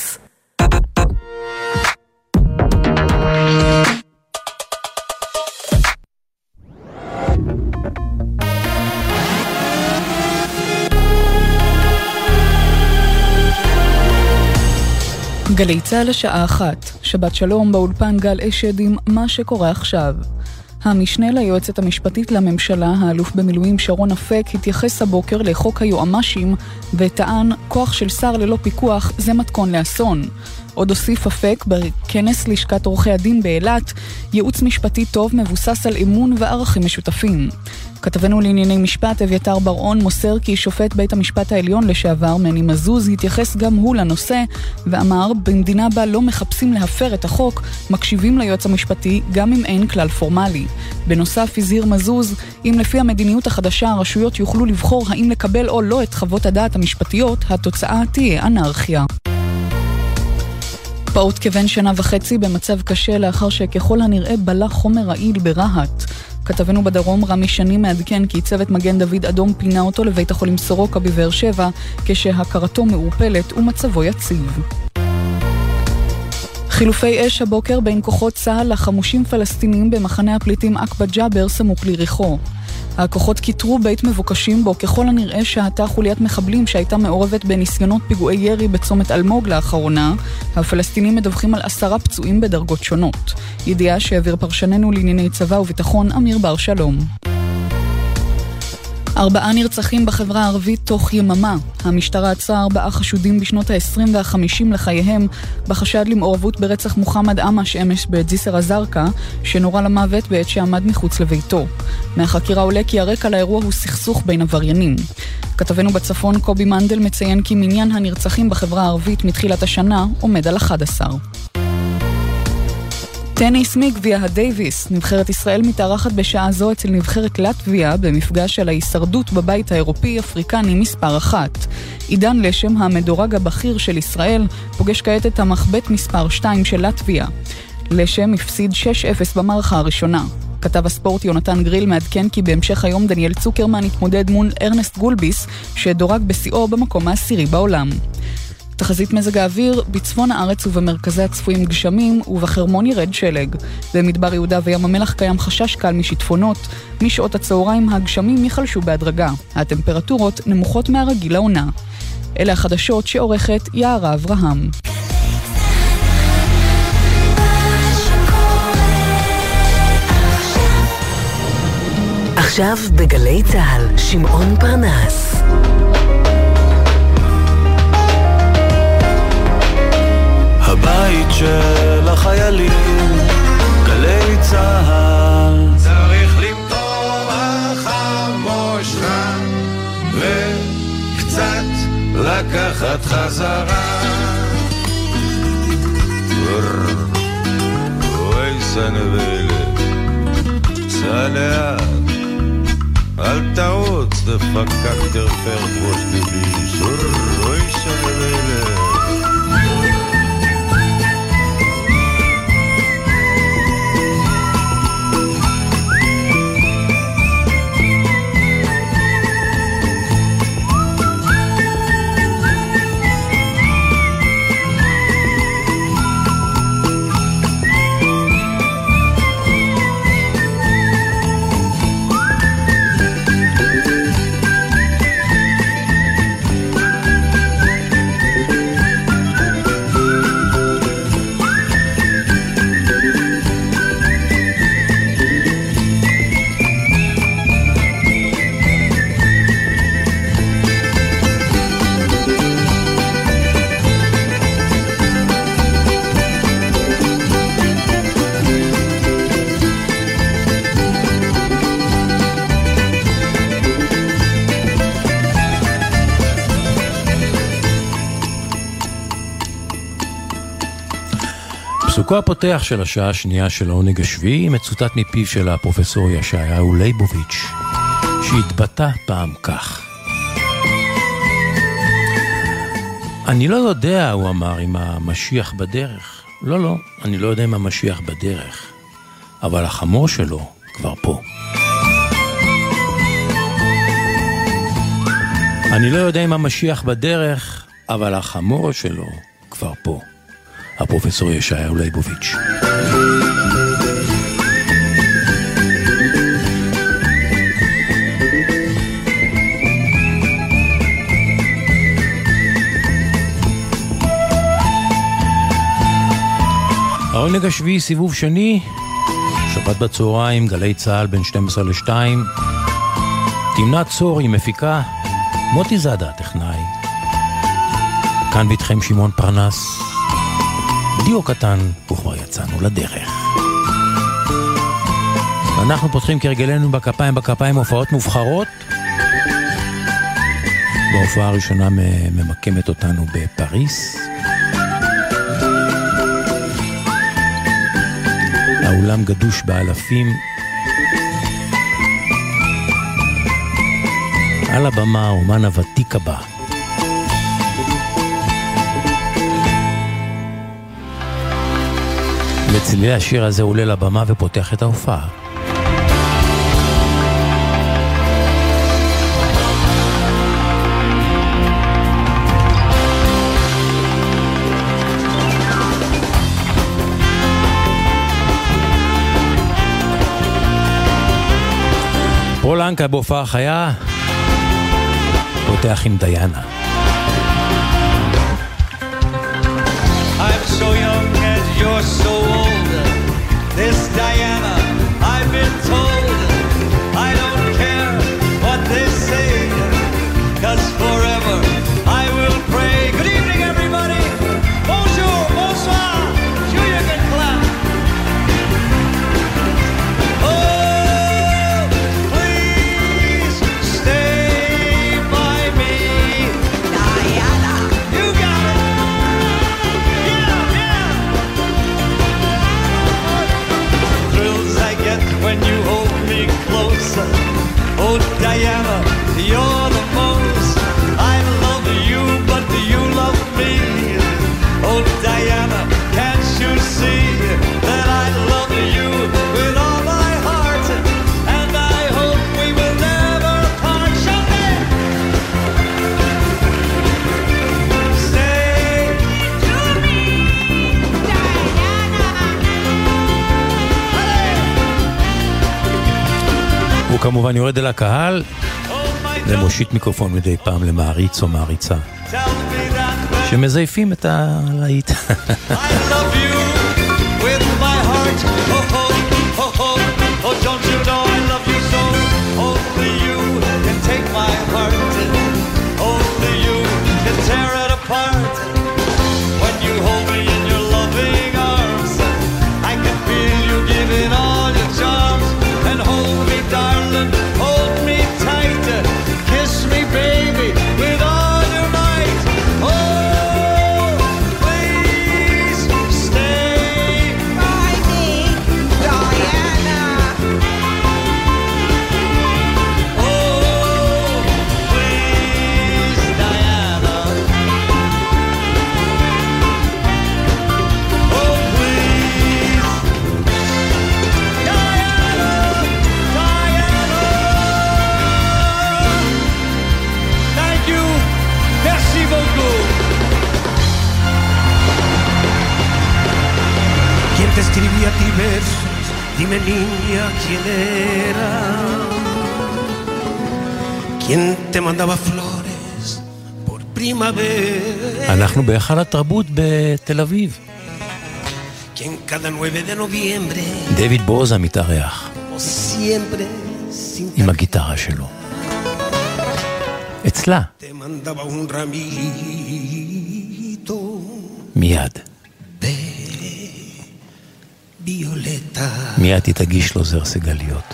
גלי צהל השעה 1, שבת שלום באולפן גל אשד עם מה שקורה עכשיו. המשנה ליועצת המשפטית לממשלה, האלוף במילואים שרון אפק, התייחס הבוקר לחוק היועמ"שים וטען כוח של שר ללא פיקוח זה מתכון לאסון. עוד הוסיף אפק בכנס לשכת עורכי הדין באילת, ייעוץ משפטי טוב מבוסס על אמון וערכים משותפים. כתבנו לענייני משפט אביתר בר-און מוסר כי שופט בית המשפט העליון לשעבר מני מזוז התייחס גם הוא לנושא ואמר במדינה בה לא מחפשים להפר את החוק, מקשיבים ליועץ המשפטי גם אם אין כלל פורמלי. בנוסף הזהיר מזוז, אם לפי המדיניות החדשה הרשויות יוכלו לבחור האם לקבל או לא את חוות הדעת המשפטיות, התוצאה תהיה אנרכיה. פעוט כבן שנה וחצי במצב קשה לאחר שככל הנראה בלה חומר רעיל ברהט. כתבנו בדרום רמי שני מעדכן כי צוות מגן דוד אדום פינה אותו לבית החולים סורוקה בבאר שבע כשהכרתו מעורפלת ומצבו יציב. חילופי אש הבוקר בין כוחות צה"ל לחמושים פלסטינים במחנה הפליטים עקבת ג'אבר סמוך ליריחו. הכוחות כיתרו בית מבוקשים בו ככל הנראה שהתה חוליית מחבלים שהייתה מעורבת בניסיונות פיגועי ירי בצומת אלמוג לאחרונה. הפלסטינים מדווחים על 10 פצועים בדרגות שונות. ידיעה שהעביר פרשננו לענייני צבא וביטחון אמיר בר שלום. 4 נרצחים בחברה הערבית תוך יממה. המשטרה עצרה 4 חשודים בשנות ה-20 וה-50 לחייהם בחשד למעורבות ברצח מוחמד אמש אמש בג'יסר א-זרקא שנורה למוות בעת שעמד מחוץ לביתו. מהחקירה עולה כי הרקע לאירוע הוא סכסוך בין עבריינים. כתבנו בצפון קובי מנדל מציין כי מניין הנרצחים בחברה הערבית מתחילת השנה עומד על 11. טניס מגביע הדייביס. נבחרת ישראל מתארחת בשעה זו אצל נבחרת לטביה במפגש של ההישרדות בבית האירופי-אפריקני מספר 1. עידן לשם, המדורג הבכיר של ישראל, פוגש כעת את המחבט מספר 2 של לטביה. לשם הפסיד 6-0 במערכה הראשונה. כתב הספורט יונתן גריל מעדכן כי בהמשך היום דניאל צוקרמן התמודד מול ארנסט גולביס שדורג בשיאו במקום ה10 בעולם. תחזית מזג האוויר, בצפון הארץ ובמרכזי הצפויים גשמים ובחרמון ירד שלג. במדבר יהודה וים המלח קיים חשש קל משיטפונות. משעות הצהריים הגשמים יחלשו בהדרגה. הטמפרטורות נמוכות מהרגיל לעונה. אלה החדשות שעורכת יערה אברהם. עכשיו בגלי צהל, שמעון פרנס. הבית של החיילים, גלי צהל. צריך למטור החמושה וקצת לקחת חזרה. אוי סנבלה, סע לאט, אל תעוץ דפקק תרפר בוש גביש. אוי סנבלה. פסוקו הפותח של השעה השנייה של העונג השביעי מצוטט מפיו של הפרופסור ישעיהו ליבוביץ' שהתבטא פעם כך: אני לא יודע, הוא אמר, אם המשיח בדרך. לא, אני לא יודע אם המשיח בדרך, אבל החמור שלו כבר פה. אני לא יודע אם המשיח בדרך, אבל החמור שלו כבר פה. הפרופסור ישעיהו ליבוביץ'. העונג השביעי, סיבוב שני, שבת בצהריים, גלי צהל בין 12 ל-2. תמנת צור היא מפיקה, מוטי זאדה טכנאי. כאן ביתכם שמעון פרנס. דיו קטן, וכבר יצאנו לדרך. ואנחנו פותחים כרגלנו בכפיים הופעות מובחרות. בהופעה הראשונה ממקמת אותנו בפריס. האולם גדוש באלפים. על הבמה אומן הוותיק הבא. בצלילי השיר הזה עולה לבמה ופותח את ההופעה. פולנקה בהופעה חיה, פותח עם דיאנה. I'm so young and you're so old. This Diana, I've been told. I don't care what they say, 'cause forever I will pray. Good evening, everybody. Bonjour, bonsoir. Sure you can clap. Oh, please stay by me, Diana. You got it. Thrills I get when you hold me closer. Oh, Diana, you're the most. I love you, but you love me. Oh, Diana, can't you see that I love you with all my heart? And I hope we will never part. Champagne! Stay to me, הוא כמובן יורד אל הקהל ומושיט מיקרופון מדי פעם למעריץ או מעריצה שמזייפים את הלהיט. I love you with my heart. Oh, oh, oh, oh, oh, don't you know I love you so? Only you can take my heart. Only you can tear it apart. When you hold me in your loving arms, I can feel you giving all your charms. And hold me, darling, hold me tight. Kiss me, baby, with all your might. Oh, please stay by me, Diana. Oh, please, Diana. Oh, please, Diana, Diana. Thank you. Merci beaucoup. ¿Quién te escribía a ti versos? Dime niña, ¿quién era? ¿Quién te mandaba flores por primavera? אנחנו בהיכל התרבות בתל אביב. ¿Quién cada 9 de noviembre? דויד בוזה מתארח O siempre sin עם הגיטרה שלו. אצלה, te mandaba un ramito מיד. violeta. מיד היא תגיש לו זר סגליות.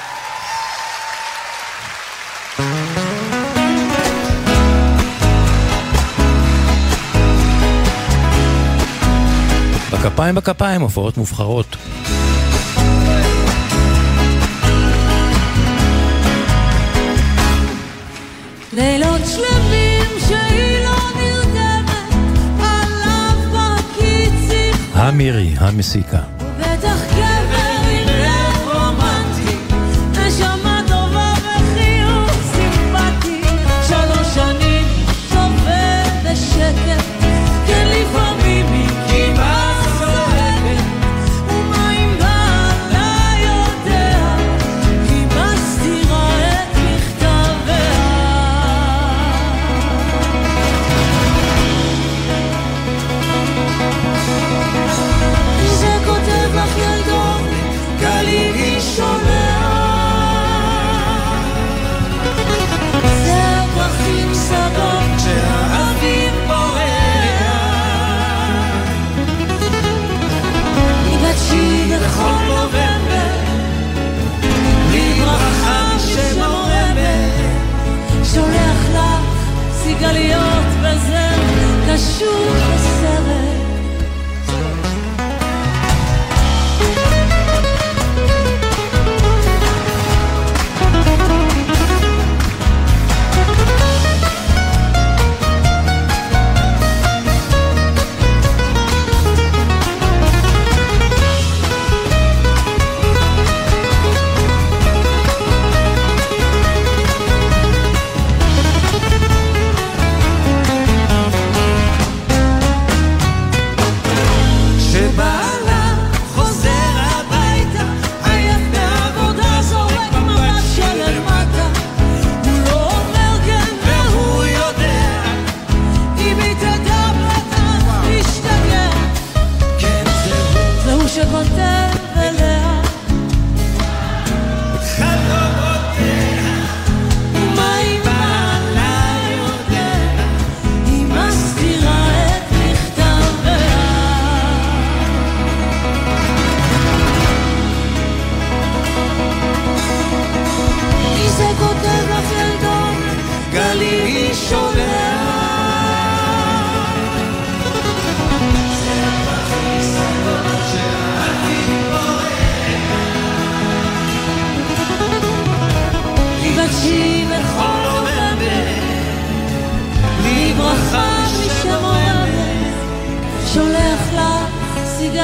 בכפיים בכפיים, הופעות מובחרות. לילות שלמים שהיא לא נרדמת עליו בקיצים המירי, המסיקה. בטח גבר עם לב רומנטי נשמה טובה וחיוך סימפטי 3 שנים סובל בשקט כן לפעמים היא כמעט סועקת ומה אם בעלה יודע היא מסתירה את מכתביה זה כותב לך ילדון גלי ראשונה זה הפרחים סגות שהאביב בורח ניגשי בכל נובמבר בלי ברכה שמורמת שולח לך סיגליות בזר קשור בסרט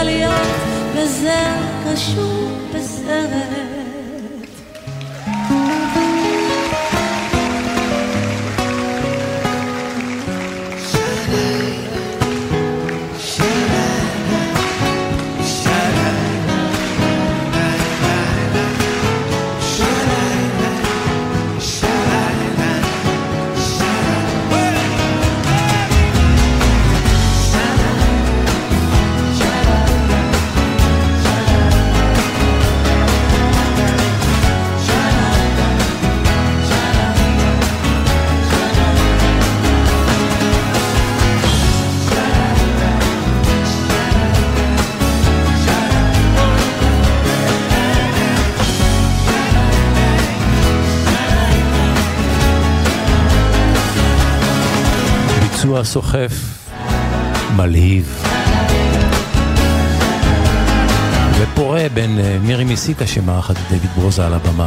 סיגליות וזר קשור בסרט. סוחף מלהיב ופורה בין מירי מיסיקה שמערכת דויד ברוזה על הבמה.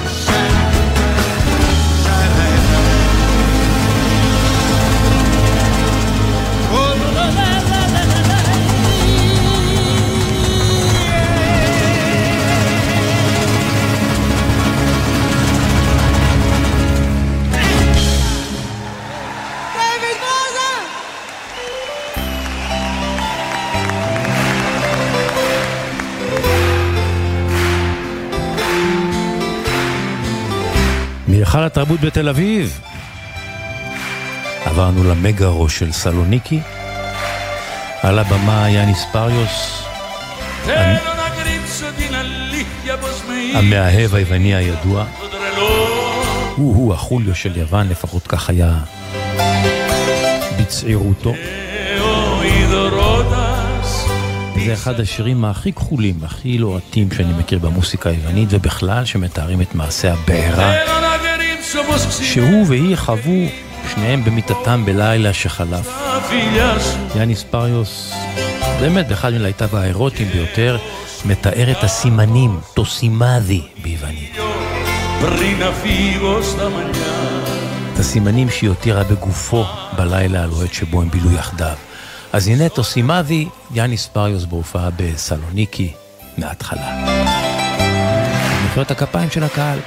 מהיכל התרבות בתל אביב עברנו למגרו של סלוניקי, על הבמה יאניס פריוס המאהב היווני הידוע, הוא החוליו של יוון, לפחות כך היה בצעירותו. זה אחד השירים הכי כחולים, הכי לוהטים שאני מכיר במוסיקה היוונית, ובכלל שמתארים את מעשה הבעירה שהוא והיא חוו שניהם במיטתם בלילה שחלף. יאניס פריוס באמת באחד מלהיטיו האירוטיים ביותר מתאר את הסימנים, תוסימאדי ביוונית, את הסימנים שהיא הותירה בגופו בלילה הלוהט שבו הם בילו יחדיו. אז הנה תוסימאדי, יאניס פריוס בהופעה בסלוניקי מההתחלה. נקרא את הכפיים של הקהל.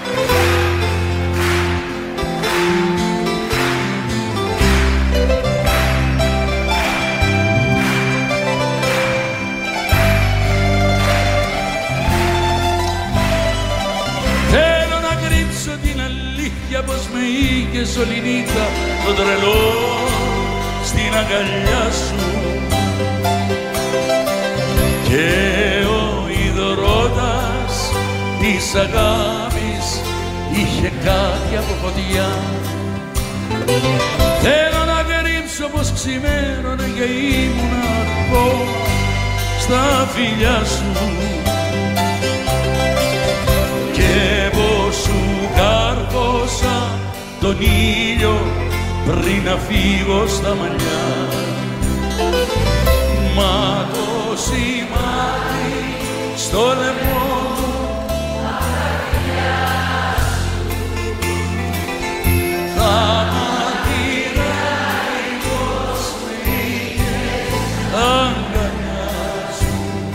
Και σωληνίτσα το τρελό στην αγκαλιά σου και ο ιδωρώτας της αγάπης είχε κάτι από φωτιά. Θέλω να κρύψω πως ξημέρωνε και ήμουν ακόμα στα φιλιά σου και πως σου κάρφωσα τον ήλιο πριν να φύγω στα μαλλιά. Μα το σημάδι στο λαιμό μου θα μαρτυράει πως με είχες αγκαλιά σου.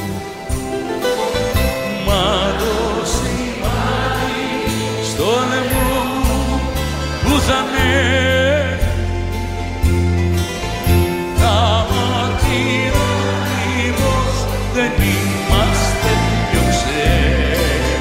Μα το σημάδι στο λαιμό που θα με θα μαρτυράει πως δεν είμαστε πιο ξένοι.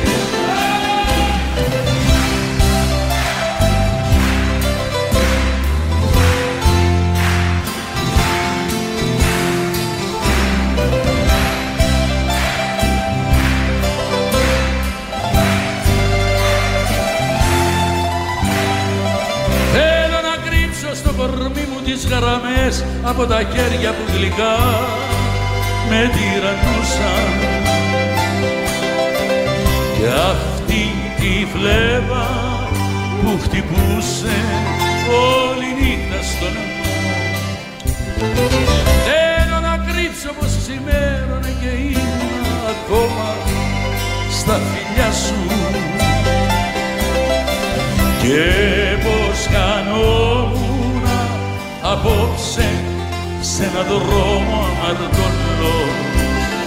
Κορμί μου τις γραμμές από τα χέρια που γλυκά με τυραννούσαν και αυτή τη φλέβα που χτυπούσε όλη νύχτα στο λαιμό. Θέλω να κρύψω πως ξημέρωνε και ήμουν ακόμα στα φιλιά σου και πως κανόμουν απόψε σε έναν δρόμο αμαρτωλό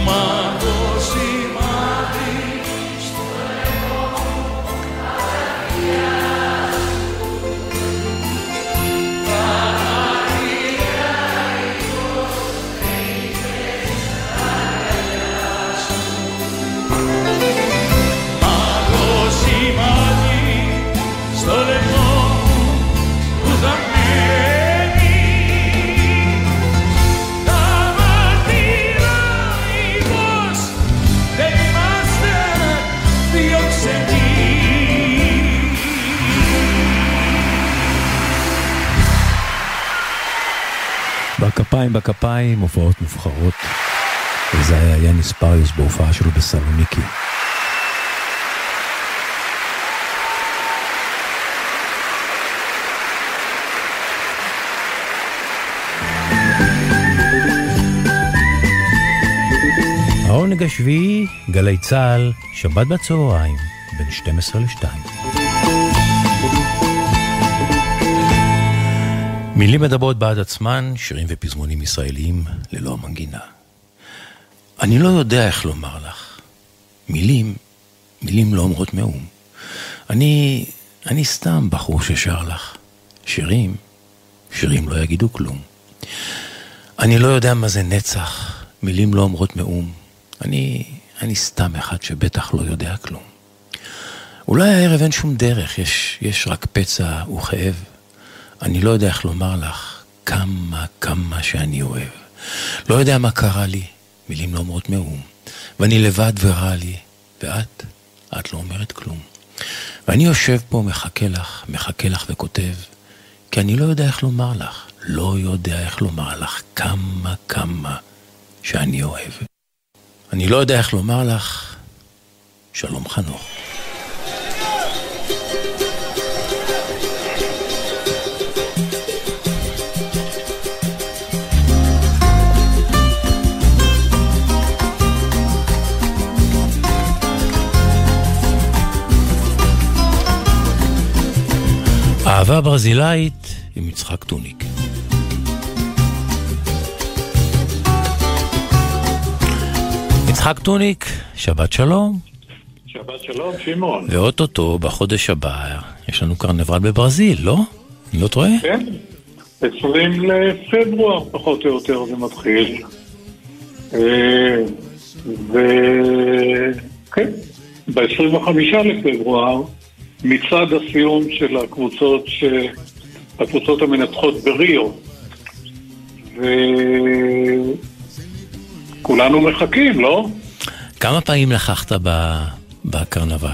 בכפיים, הופעות מובחרות. וזה היה יאניס פריוס בהופעה שלו בסלוניקי. העונג השביעי, גלי צהל, שבת בצהריים, בין 12 ל-2. מילים מדברות בעד עצמן, שירים ופזמונים ישראליים ללא המנגינה. אני לא יודע איך לומר לך. מילים לא אומרות מאום. אני סתם בחור ששר לך. שירים לא יגידו כלום. אני לא יודע מה זה נצח, מילים לא אומרות מאום. אני סתם אחד שבטח לא יודע כלום. אולי הערב אין שום דרך, יש רק פצע וכאב. אני לא יודע איך לומר לך כמה שאני אוהב. לא יודע מה קרה לי, מילים לא אומרות מאום. ואני לבד ורע לי, ואת לא אומרת כלום. ואני יושב פה, מחכה לך וכותב, כי אני לא יודע איך לומר לך, לא יודע איך לומר לך כמה שאני אוהב. אני לא יודע איך לומר לך, שלום חנוך. אהבה ברזילאית עם יצחק טוניק. יצחק טוניק, שבת שלום. שבת שלום, שמעון. ואוטוטו בחודש הבא יש לנו קרנבל בברזיל, לא? אני לא טועה? כן, 20 לפברואר פחות או יותר זה מתחיל. וכן, ב-25 לפברואר מצד הסיום של הקבוצות המנצחות בריו, וכולנו מחכים, לא? כמה פעמים לקחת בקרנבל?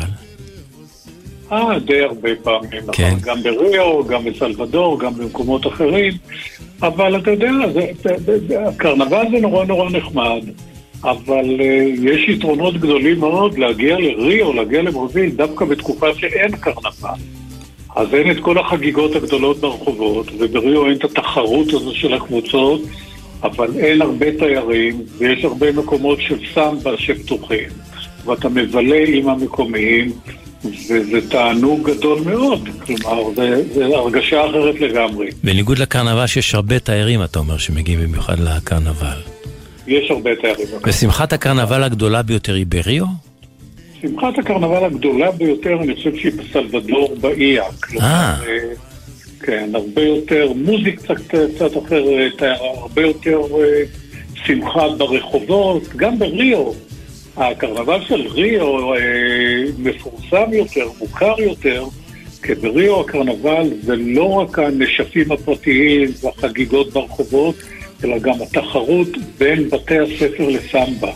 די הרבה פעמים, כן. גם בריו, גם בסלבדור, גם במקומות אחרים, אבל אתה יודע, הקרנבל זה נורא נחמד, אבל יש יתרונות גדולים מאוד להגיע לריו, להגיע לברזיל, דווקא בתקופה שאין קרנבל. אז אין את כל החגיגות הגדולות ברחובות, ובריו אין את התחרות הזו של הקבוצות, אבל אין הרבה תיירים, ויש הרבה מקומות של סמבה שפתוחים, ואתה מבלה עם המקומיים, וזה תענוג גדול מאוד, כלומר, זה הרגשה אחרת לגמרי. בניגוד לקרנבל שיש הרבה תיירים, אתה אומר שמגיעים במיוחד לקרנבל. יש הרבה תיירים. ושמחת הקרנבל הגדולה ביותר היא בריו? שמחת הקרנבל הגדולה ביותר, אני חושב שהיא בסלבדור באיה. כן, הרבה יותר מוזיקה קצת אחרת, הרבה יותר שמחה ברחובות, גם בריו. הקרנבל של ריו מפורסם יותר, מוכר יותר, כי בריו הקרנבל זה לא רק הנשפים הפרטיים והחגיגות ברחובות, אלא גם התחרות בין בתי הספר לסמבה.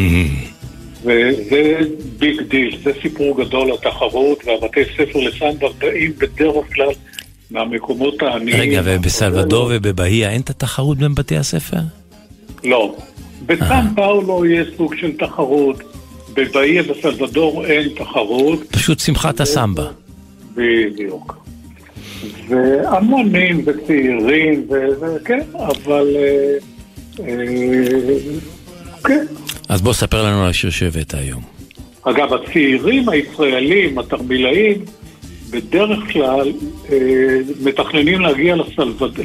וזה ביג דיל, זה סיפור גדול התחרות, והבתי ספר לסמבה באים בדרך כלל מהמקומות העניים. רגע, ובסלבדור ובבאיה אין את התחרות בין בתי הספר? לא. בסן פאולו יש סוג של תחרות, בבאיה בסלבדור אין תחרות. פשוט שמחת הסמבה. בדיוק. והמונים וצעירים, וכן, אבל כן. אז בוא ספר לנו על השיר שהבאת היום. אגב, הצעירים הישראלים, התרמילאים, בדרך כלל מתכננים להגיע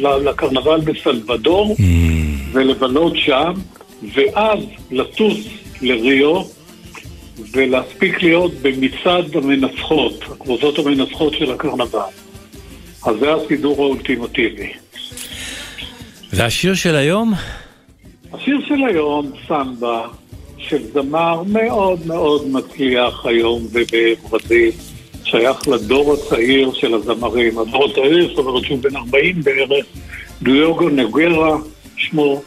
לקרנבל בסלבדור ולבלות שם, ואז לטוס לריו, ולהספיק להיות במצעד המנצחות, הקבוצות המנצחות של הקרנבל. אז זה הסידור האולטימטיבי. והשיר של היום? השיר של היום, סמבה, של זמר מאוד מאוד מצליח היום בברזיל, שייך לדור הצעיר של הזמרים. הדור הצעיר, זאת אומרת שהוא בן 40 בערך, דיוגו נגרה שמו,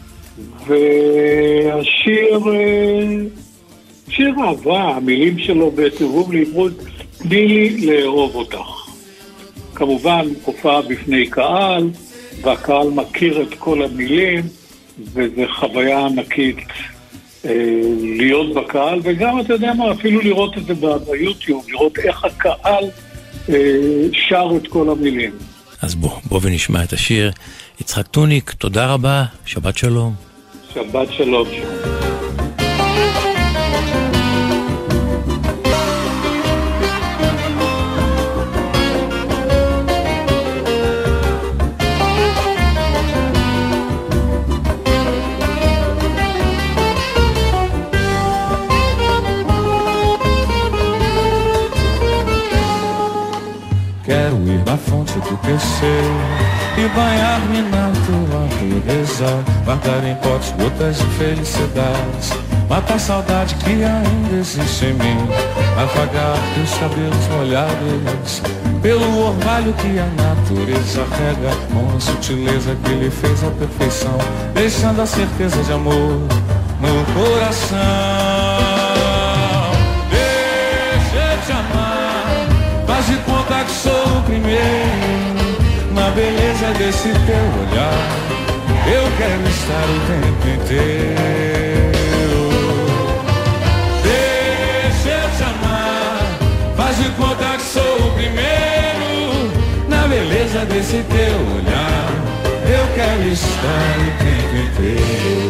והשיר, שיר אהבה, המילים שלו בתרגום לעברית, תני לי לאהוב אותך. כמובן הופעה בפני קהל, והקהל מכיר את כל המילים, וזו חוויה ענקית להיות בקהל, וגם אתה יודע מה, אפילו לראות את זה ביוטיוב, לראות איך הקהל שר את כל המילים. אז בוא ונשמע את השיר. יצחק טוניק, תודה רבה, שבת שלום. שבת שלום. Quero ir na fonte do teu e banhar-me na tua pureza, guardar em potes gotas de felicidade, matar a saudade que ainda existe em mim, afagar teus cabelos molhados pelo orvalho que a natureza rega, com a sutileza que lhe fez a perfeição, deixando a certeza de amor no coração. Deixa eu te amar, faz de conta que sou o primeiro na beleza desse teu olhar. Eu quero estar o tempo inteiro. Deixa eu te amar, faz de conta que sou o primeiro na beleza desse teu olhar. Eu quero estar o tempo inteiro.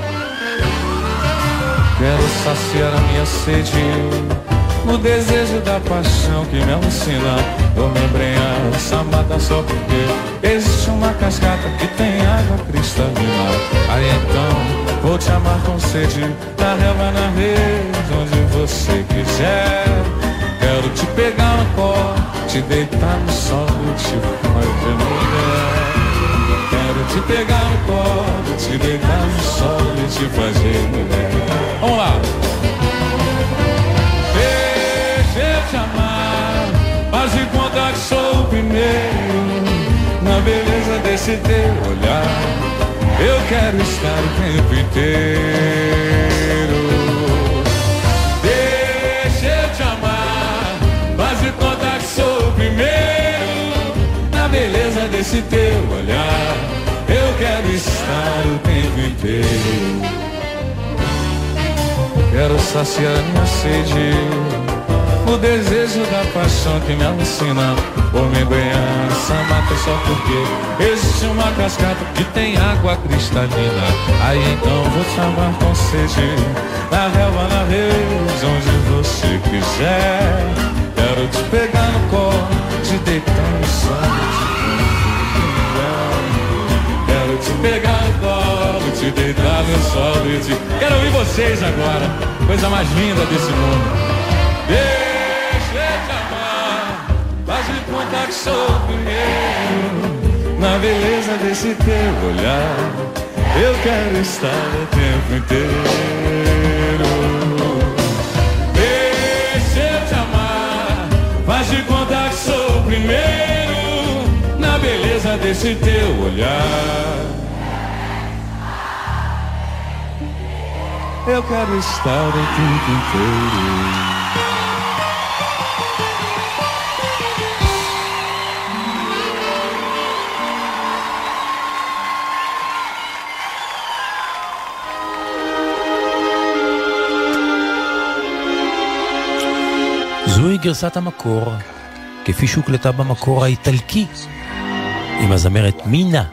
Quero saciar a minha sede no desejo da paixão que me alucina. Vou me embrenhar essa mata só porque existe uma cascata que tem água cristalina. Aí então vou te amar com sede, na relva, na rede, onde você quiser. Quero te pegar no colo, te deitar no sol e te fazer mulher. Quero te pegar no colo, te deitar no sol e te fazer mulher. Vamos lá! Te amar, faz de conta que sou o primeiro na beleza desse teu olhar. Eu quero estar o tempo inteiro. Deixa eu te amar, faz de conta que sou o primeiro na beleza desse teu olhar. Eu quero estar o tempo inteiro. Quero saciar minha sede o desejo da paixão que me alucina. Vou me banhar essa mata só porque existe uma cascata que tem água cristalina. Aí então vou te amar com sede, na relva, na rede, onde você quiser. Quero te pegar no colo, te deitar no sol. Quero te pegar no colo, te deitar no sol e te... Quero ouvir vocês agora, coisa mais linda desse mundo. Faz de conta que sou o primeiro na beleza desse teu olhar. Eu quero estar o tempo inteiro. Deixa eu te amar, faz de conta que sou o primeiro na beleza desse teu olhar. Eu quero estar o tempo inteiro. זוהי גרסת המקור, כפי שהוקלטה במקור האיטלקי, עם הזמרת מינה.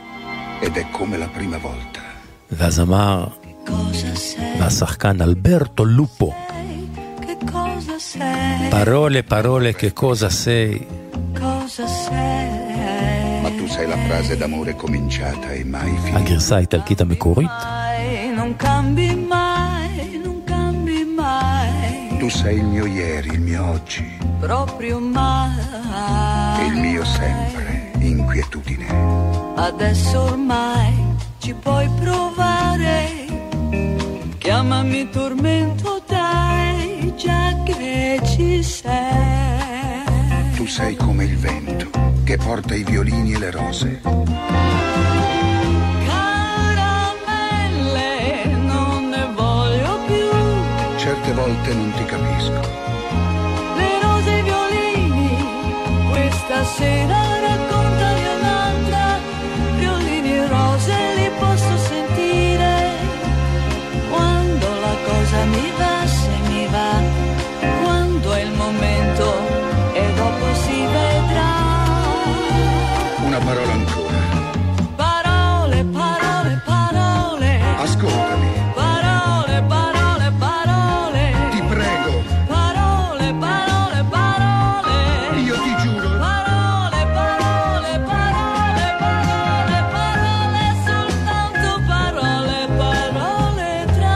והזמר והשחקן אלברטו לופו. פרולה, פרולה, che cosa sei? Ma tu sai la frase d'amore cominciata e mai finita. הגרסה האיטלקית המקורית. Non cambi mai, non cambi sei il mio ieri, il mio oggi, proprio mai. il mio sempre, inquietudine. Adesso ormai ci puoi provare. Chiamami tormento, dai, già che ci sei. Tu sei come il vento che porta i violini e le rose. Caramelle, non ne voglio più. Certe volte non ti capisco. Le rose e i violini, questa sera raccontali un'altra. Violini e rose li posso sentire. Quando la cosa mi va, se mi va. Quando è il momento e dopo si vedrà. Una parola ancora. Parole, parole, parole. Ascoltami. Parole, parole, parole. Ti prego. Parole, parole, parole. Io ti giuro. Parole, parole, parole, parole, parole, soltanto parole, parole tra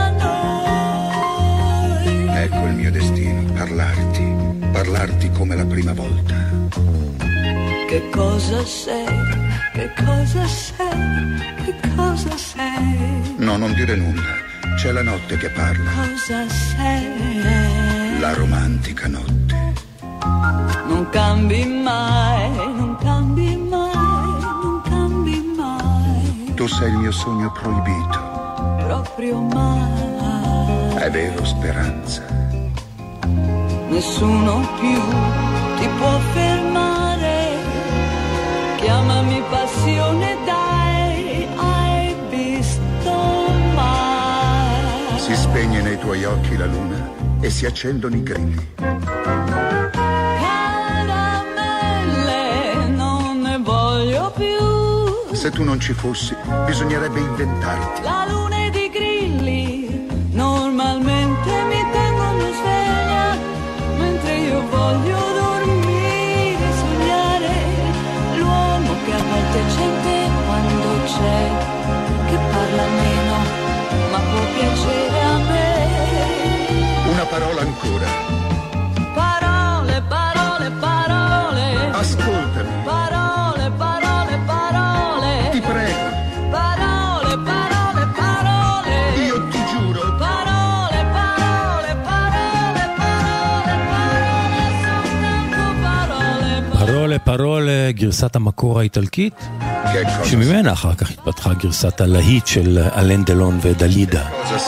noi. Ecco il mio destino, parlarti come la prima volta. Che cosa sei? Che cosa sei? Che cosa sei? No, non dire nulla, c'è la notte che parla, Cosa sei? la romantica notte. Non cambi mai, non cambi mai, non cambi mai, Tu sei il mio sogno proibito, proprio mai. è vero Speranza. Nessuno più ti può fermare. Chiamami passione, dai, hai visto mai? Si spegne nei tuoi occhi la luna e si accendono i grilli. Caramelle, non ne voglio più. Se tu non ci fossi, bisognerebbe inventarti. La luna ed i grilli normalmente mi tengono sveglia, mentre io voglio dormire, sognare. L'uomo che a volte c'è quando c'è, che parla meno ma può piacere a me. Una parola ancora. Parole, parole, parole. Ascoltami. Parole, parole, parole. Ti prego. Parole, parole, parole. Io ti giuro. Parole, parole, parole, parole, parole, soltanto parole, parole, גרסת המקור האיטלקית, שממנה אחר כך התפתחה גרסת הלהיט של אלן דלון ודלידה.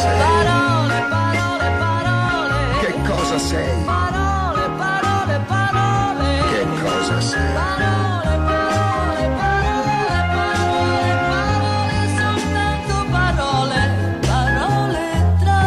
Che cosa sei? Parole, parole, parole. Che cosa sei? Parole, parole, parole, parole, parole, soltanto parole, parole tra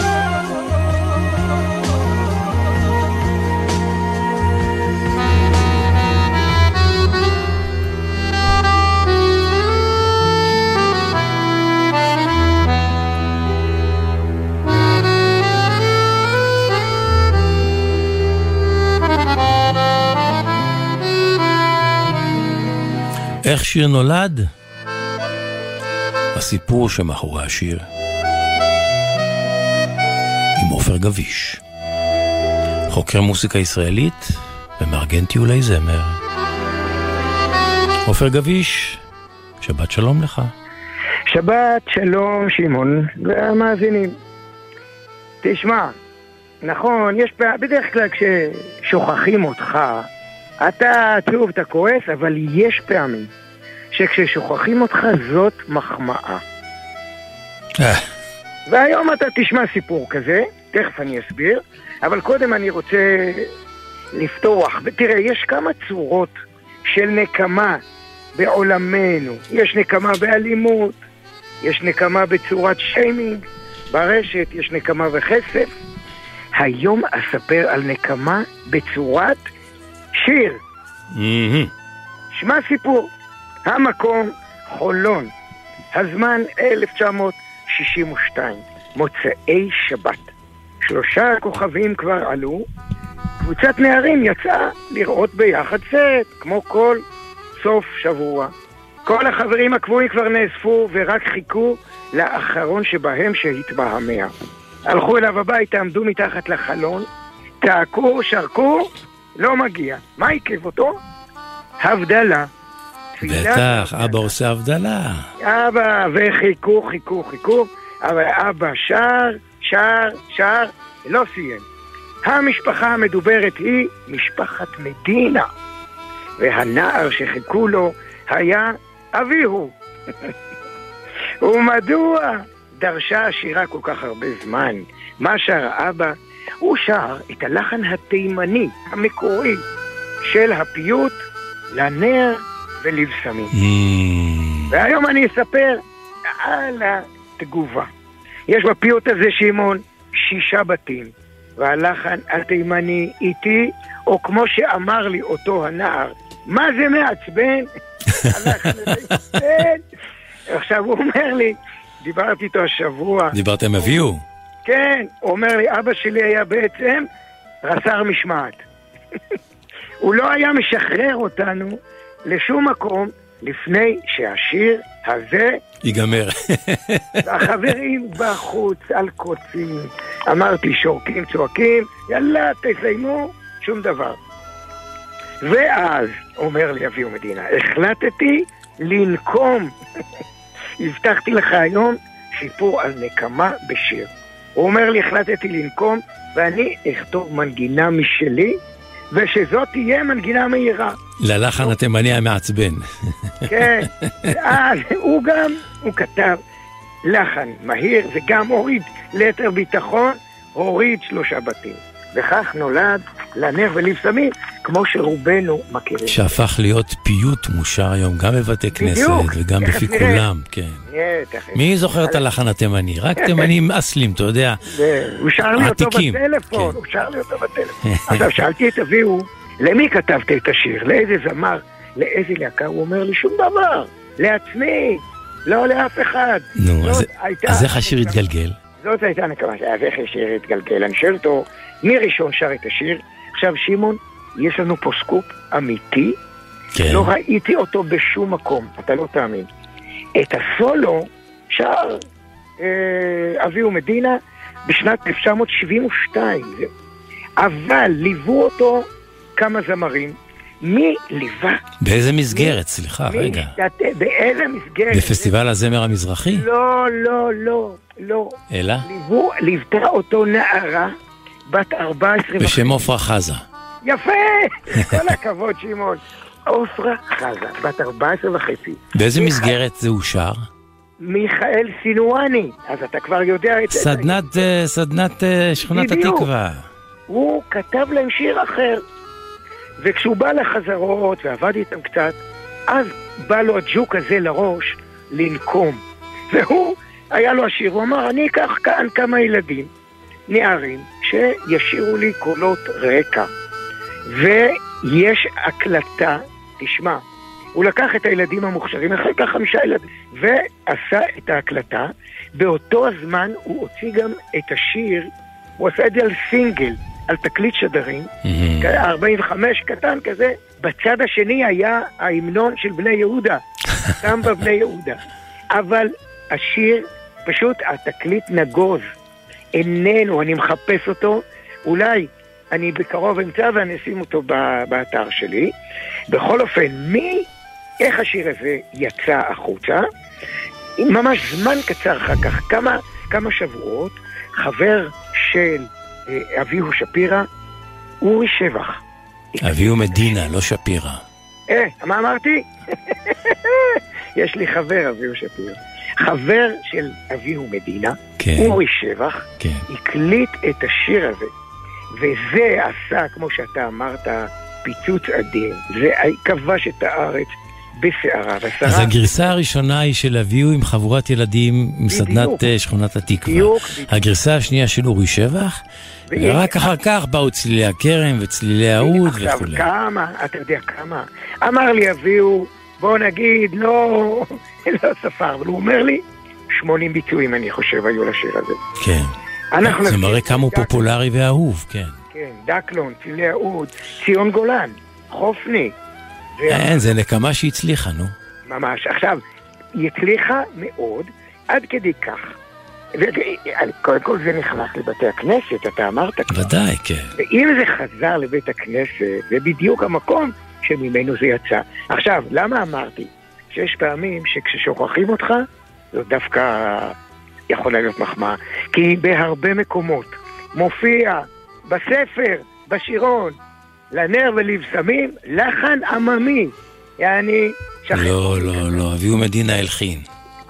איך שיר נולד? הסיפור שמאחורי השיר עם עופר גביש, חוקר מוסיקה ישראלית ומארגן טיולי זמר. עופר גביש, שבת שלום לך. שבת שלום שמעון והמאזינים. תשמע, נכון, יש בדרך כלל כששוכחים אותך אתה עצוב, אתה כועס, אבל יש פעמים שכששוכחים אותך זאת מחמאה. והיום אתה תשמע סיפור כזה, תכף אני אסביר, אבל קודם אני רוצה לפתוח. ותראה, יש כמה צורות של נקמה בעולמנו. יש נקמה באלימות, יש נקמה בצורת שיימינג, ברשת יש נקמה וחסף. היום אספר על נקמה בצורת שיר. שמע סיפור. המקום חולון. הזמן 1962. מוצאי שבת. 3 כוכבים כבר עלו. קבוצת נערים יצאה לראות ביחד סט, כמו כל סוף שבוע. כל החברים הקבועים כבר נאספו ורק חיכו לאחרון שבהם שהתבהמע. הלכו אליו הביתה, עמדו מתחת לחלון צעקו, שרקו, לא מגיע. מה עיכב אותו? הבדלה. בטח, אבא עושה הבדלה. אבא, וחיכו, אבל אבא שר, לא סיים. המשפחה המדוברת היא משפחת מדינה, והנער שחיכו לו היה אביהו. ומדוע דרשה השירה כל כך הרבה זמן? מה שר האבא? הוא שר את הלחן התימני המקורי של הפיוט לנר ולבשמים. והיום אני אספר על התגובה. יש בפיוט הזה, שמעון, 6 בתים, והלחן התימני איתי, או כמו שאמר לי אותו הנער, מה זה מעצבן? הלחן התימני. עכשיו הוא אומר לי, דיברתי איתו השבוע. דיברתם אביהו? כן, הוא אומר לי, אבא שלי היה בעצם רס"ר משמעת. הוא לא היה משחרר אותנו לשום מקום לפני שהשיר הזה ייגמר. החברים בחוץ על קוצים, אמרתי שורקים, צועקים, יאללה תסיימו, שום דבר. ואז אומר לי אביהו מדינה, החלטתי לנקום. הבטחתי לך היום סיפור על נקמה בשיר. הוא אומר לי, החלטתי לנקום ואני אכתוב מנגינה משלי, ושזאת תהיה מנגינה מהירה. ללחן התימני המעצבן. כן, אז הוא כתב לחן מהיר, וגם הוריד ליתר ביטחון, הוריד 3 בתים. וכך נולד לנר ולבשמים, כמו שרובנו מכירים. שהפך להיות פיוט מושר היום, גם בבתי כנסת וגם בפי כולם, כן. מי זוכר את הלחן התימני? רק תימנים אסלים, אתה יודע. הוא שר לי אותו בטלפון, עכשיו שאלתי את אביהו, למי כתבת את השיר? לאיזה זמר? לאיזה להקה? הוא אומר לי, שום דבר, לעצמי, לא לאף אחד. נו, אז איך השיר התגלגל? זאת הייתה נקמה, איך השיר התגלגל. אני שואל אותו, מי ראשון שר את השיר? עכשיו שמעון, יש לנו פה סקופ אמיתי, לא ראיתי אותו בשום מקום, אתה לא תאמין. את הסולו שר אביהו מדינה בשנת 1972, אבל ליוו אותו כמה זמרים. מי ליווה? באיזה מסגרת? סליחה, רגע. באיזה מסגרת? בפסטיבל הזמר המזרחי? לא. אלא? ליוותה אותו נערה בת 14 בשם עופרה חזה. יפה! כל הכבוד, שמעון. עופרה חזה, בת 14 וחצי. באיזה מסגרת זה אושר? מיכאל סינואני, אז אתה כבר יודע את זה. סדנת שכונת התקווה. הוא כתב להם שיר אחר, וכשהוא בא לחזרות ועבד איתם קצת, אז בא לו הג'וק הזה לראש לנקום. והוא, היה לו השיר, הוא אמר, אני אקח כאן כמה ילדים, נערים, שישירו לי קולות רקע. ויש הקלטה, תשמע, הוא לקח את הילדים המוכשרים, אחר כך 5 ילדים, ועשה את ההקלטה. באותו הזמן הוא הוציא גם את השיר, הוא עשה את זה על סינגל, על תקליט שדרים, 45 קטן כזה. בצד השני היה ההמנון של בני יהודה, שם בבני יהודה. אבל השיר, פשוט התקליט נגוז, איננו, אני מחפש אותו, אולי אני בקרוב אמצא ואני אשים אותו באתר שלי. בכל אופן, איך השיר הזה יצא החוצה? ממש זמן קצר אחר כך, כמה שבועות, חבר של אביהו שפירא, אורי שבח. אביהו מדינה, לא שפירא. מה אמרתי? יש לי חבר, אביהו שפירא. חבר של אביהו מדינה, אורי שבח, הקליט את השיר הזה. וזה עשה, כמו שאתה אמרת, פיצוץ אדיר. זה כבש את הארץ בסערה. אז הגרסה הראשונה היא של אביהו עם חבורת ילדים מסדנת שכונת התקווה. הגרסה השנייה של אורי שבח, ורק אחר כך באו צלילי הכרם וצלילי העוד וכו'. עכשיו כמה, אתה יודע כמה. אמר לי אביהו, בוא נגיד, לא ספר, אבל הוא אומר לי, 80 ביצועים אני חושב היו לשיר הזה. כן. זה מראה כמה הוא פופולרי ואהוב, כן. כן, דקלון, צלילי העוד, ציון גולן, חופני. אין, זה נקמה שהצליחה, נו. ממש. עכשיו, היא הצליחה מאוד, עד כדי כך קודם כל זה נכנס לבתי הכנסת, אתה אמרת. ודאי, כן. ואם זה חזר לבית הכנסת, זה בדיוק המקום שממנו זה יצא. עכשיו, למה אמרתי? שיש פעמים שכששוכחים אותך, זו דווקא יכולה להיות מחמאה. כי בהרבה מקומות מופיע בספר, בשירון, לנר ולבשמים, לחן עממי. יעני... לא, אביהו מדינה הלחין.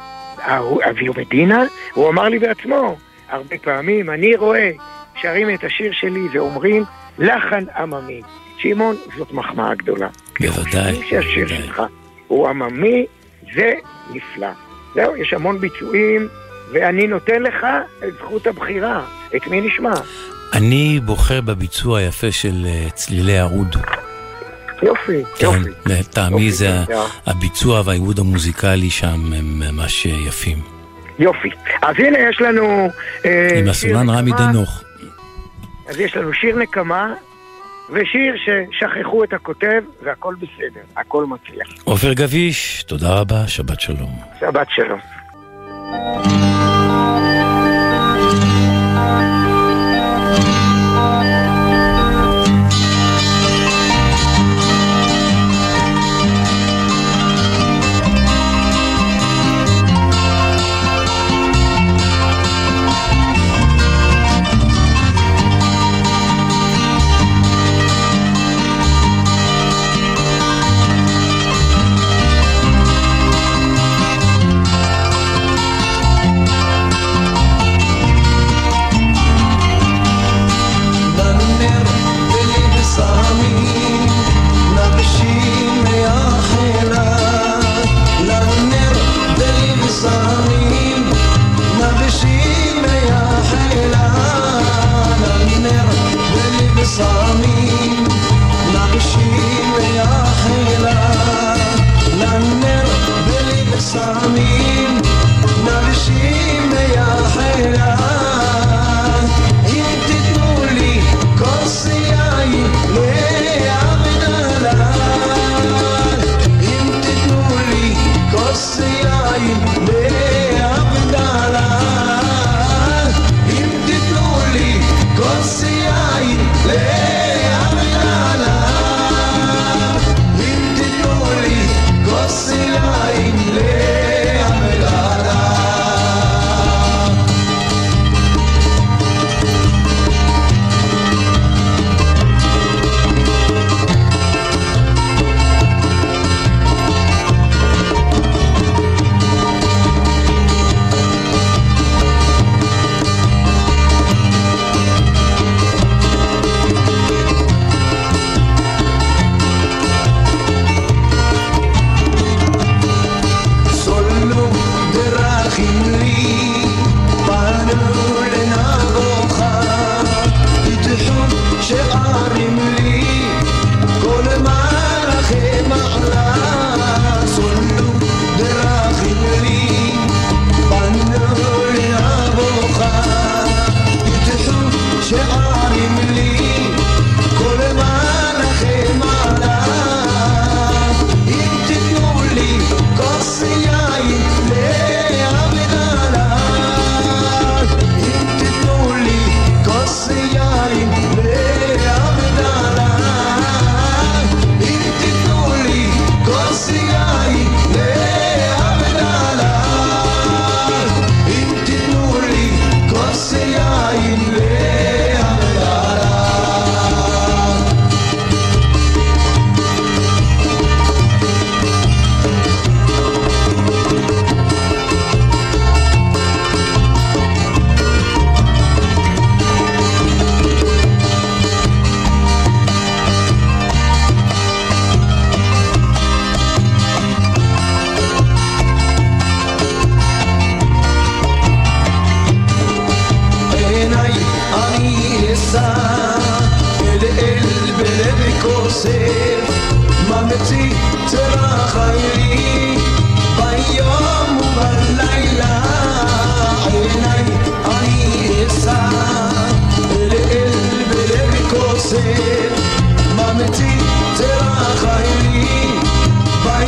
אביהו מדינה? הוא אמר לי בעצמו, הרבה פעמים אני רואה שרים את השיר שלי ואומרים לחן עממי. שמעון, זאת מחמאה גדולה. בוודאי. שהשיר שלך הוא עממי, זה נפלא. זהו, יש המון ביצועים, ואני נותן לך את זכות הבחירה. את מי נשמע? אני בוחר בביצוע היפה של צלילי הרוד. יופי, כן, יופי. לטעמי זה הביצוע והעיבוד המוזיקלי שם הם ממש יפים. יופי. אז הנה יש לנו... עם הסולן רמי דנוך. אז יש לנו שיר נקמה, ושיר ששכחו את הכותב, והכל בסדר, הכל מצליח. עופר גביש, תודה רבה, שבת שלום. שבת שלום.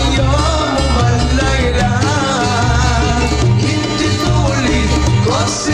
Você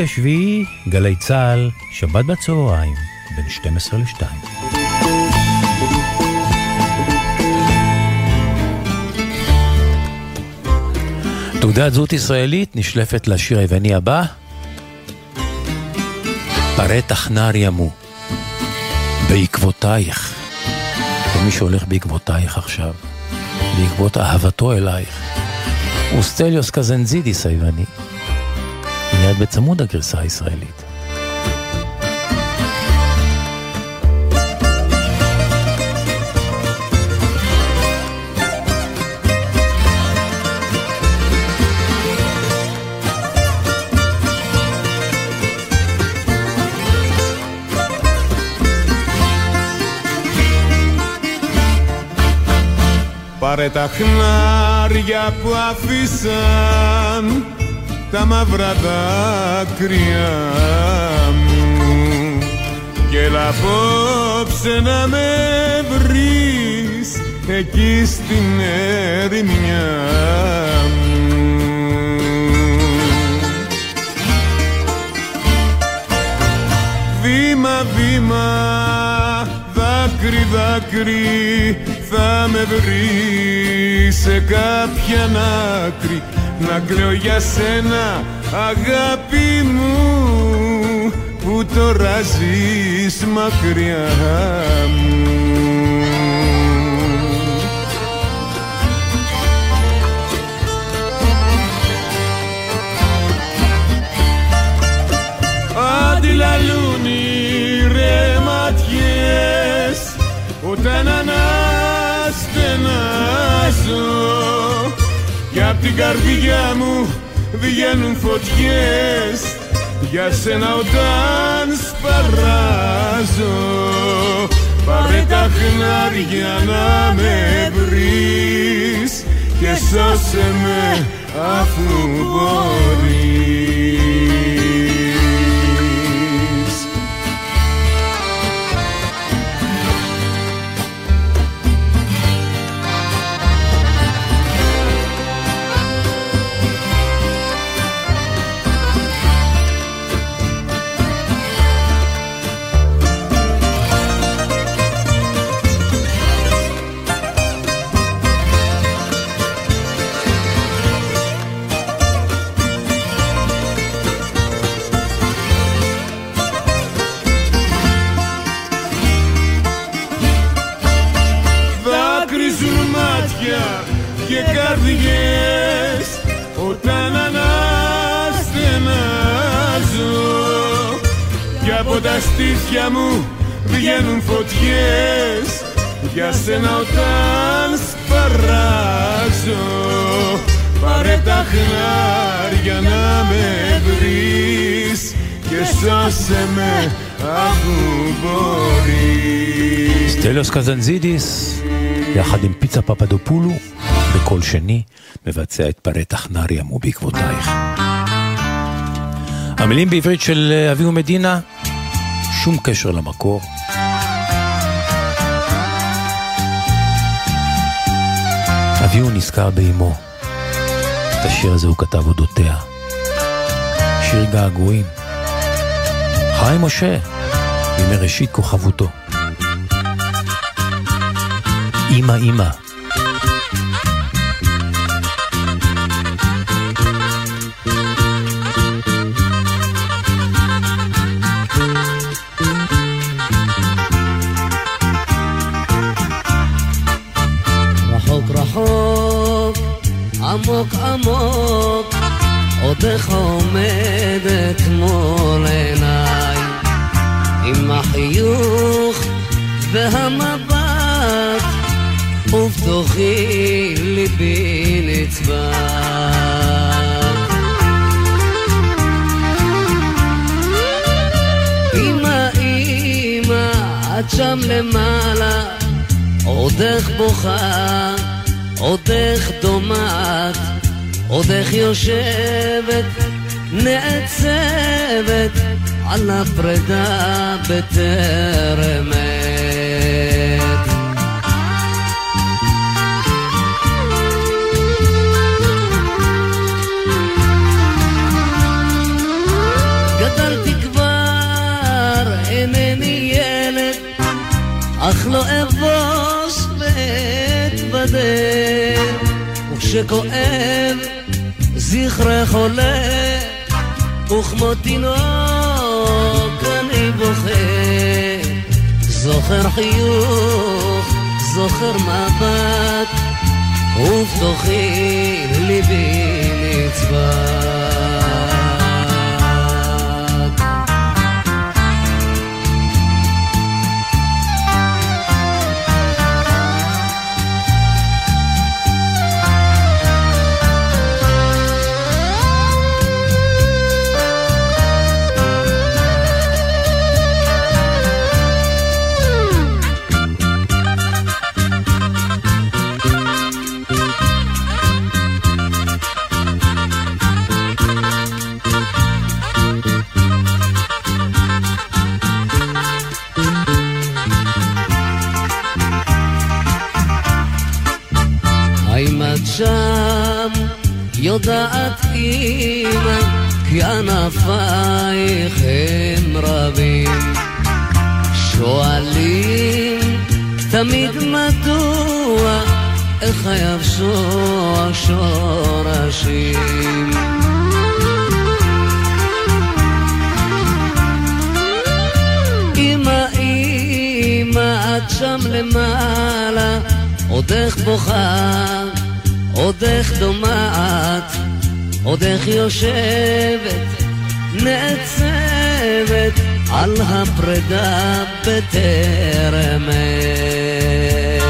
לשביעי, גלי צהל, שבת בצהריים, בין 12 ל-2. תעודת זהות ישראלית נשלפת לשיר היווני הבא, פרטח נער ימו, בעקבותייך. ומי שהולך בעקבותייך עכשיו, בעקבות אהבתו אלייך, הוא סטליוס קזנזידיס היווני, מיד בצמוד הגרסה הישראלית. Πάρε τα χνάρια που αφήσαν τα μαύρα δάκρυα μου και έλα απόψε να με βρεις εκεί στην ερημιά μου. Βήμα, βήμα, δάκρυ, δάκρυ, θα με βρει σε κάποια άκρη να κλαίω για σένα αγάπη μου που τώρα ζεις μακριά μου. Αντιλαλούν οι ρε ματιές όταν στενάζω κι απ' την καρδιά μου βγαίνουν φωτιές για σένα όταν σπαράζω. Πάρε τα χνάρια να με βρεις και σώσε με αφού μπορείς. Και καρδιές όταν αναστενάζω κι από τα στήθια μου βγαίνουν φωτιές για σένα όταν σπαράζω. Πάρε τα χνάρια να με βρεις και σώσε με αφού μπορείς. סטליוס קזנזידיס יחד עם פיצה פפדופולו בקול שני מבצע את פרטח נער ימו בעקבותייך. המילים בעברית של אביהו מדינה, שום קשר למקור. אביהו נזכר באמו. את השיר הזה הוא כתב אודותיה. שיר געגועים. חיים משה, בימי ראשית כוכבותו. אמא אמא. רחוק רחוק, עמוק עמוק, עודך עומדת מול עיניי, עם החיוך והמבט, ובתוכי ליבי נצבט. אמא אמא, את שם למעלה, עודך בוכה, עודך דומעת, עודך יושבת, נעצבת, על הפרידה בטרם עת. מתבדר, וכשכואב זכרך עולה, וכמו תינוק אני בוכה, זוכר חיוך, זוכר מבט, ובתוכי ליבי נצבט. שם יודעת אמא כי ענפייך הם רבים, שואלים תמיד מדוע איך היבשו השורשים. אמא אמא את שם למעלה, עוד איך בוכה, עוד איך דומעת, עוד איך יושבת, נעצבת על הפרידה בטרם עת.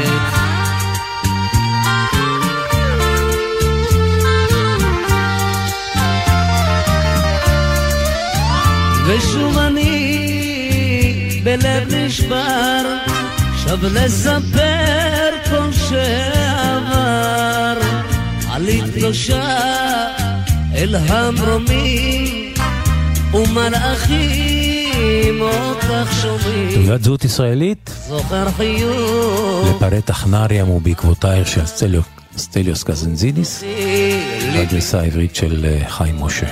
ושוב אני בלב נשבר, שב לספר כל שעבר, עלית קדושה אל המרומים ומלאכים אותך שומעים. תעודת זהות ישראלית זוכר חיוך לפרט אחנריה ובעקבותייך של סטליוס קזנזידיס, בגרסה העברית של חיים משה.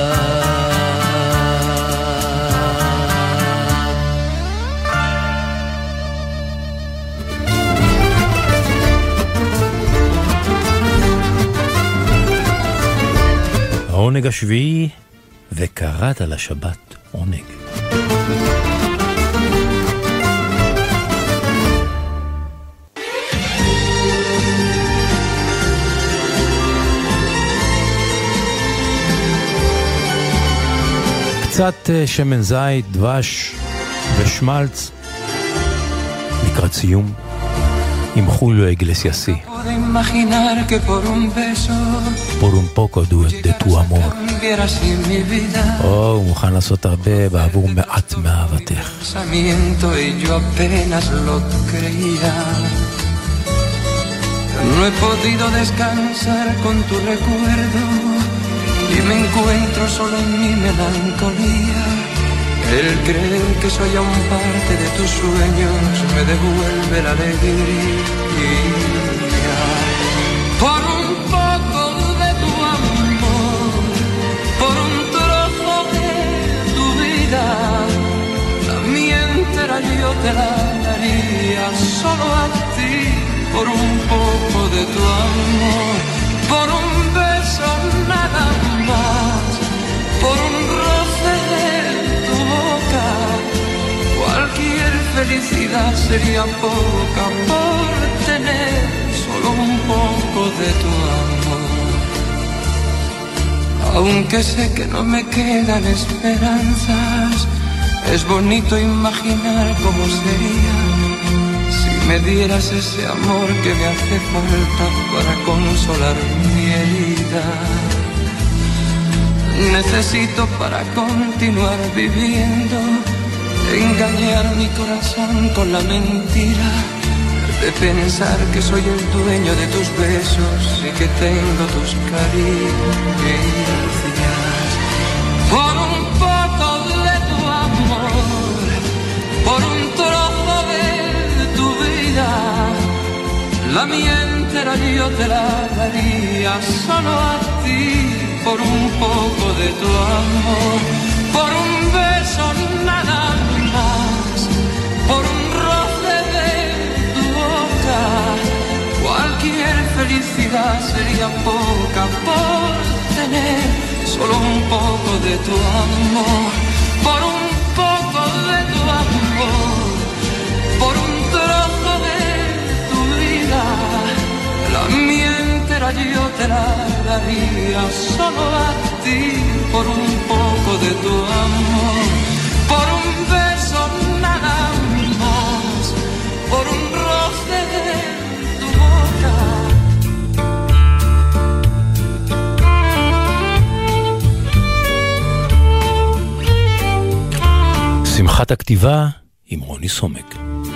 העונג השביעי, וקראת לשבת עונג. קצת שמן זית, דבש ושמלץ לקראת סיום עם חוליו איגלסיאסי. por un poco de tu amor. הוא מוכן לעשות הרבה בעבור מעט מאהבתך. No he podido descansar con tu recuerdo y me encuentro solo en mi melancolía. El creer que soy aún parte de tus sueños me devuelve la alegría. Por un poco de tu amor, por un trozo de tu vida, la mía entera yo te la daría solo a ti. Por un poco de tu amor, por un beso nada más, por un roce de tu boca, cualquier felicidad sería poca por tener solo un poco de tu amor. Aunque sé que no me quedan esperanzas, es bonito imaginar cómo sería me dieras ese amor que me hace falta para consolar mi herida. Necesito para continuar viviendo engañar mi corazón con la mentira de pensar que soy el dueño de tus besos y que tengo tus caricias. Por un poco de tu amor, por un trozo de tu vida, la mía entera yo te la daría solo a ti. Por un poco de tu amor, por un beso nada más, por un roce de tu boca, poca por tener solo un poco de tu amor, por un poco de tu amor, por un trozo de tu vida. La mía entera yo te la daría solo a ti, por un poco de tu amor, por un beso nada más, por un roce de tu boca. שמחת הכתיבה עם רוני סומק.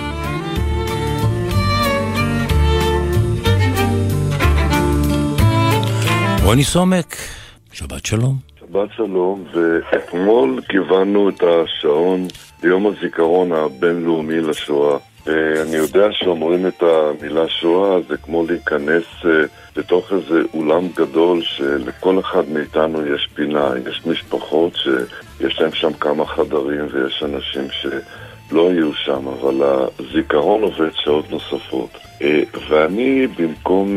רוני סומק, שבת שלום. שבת שלום, ואתמול קיבלנו את השעון ליום הזיכרון הבינלאומי לשואה. ואני יודע שאומרים את המילה שואה, זה כמו להיכנס לתוך איזה אולם גדול שלכל אחד מאיתנו יש פינה. יש משפחות שיש להם שם כמה חדרים ויש אנשים שלא יהיו שם, אבל הזיכרון עובד שעות נוספות. ואני במקום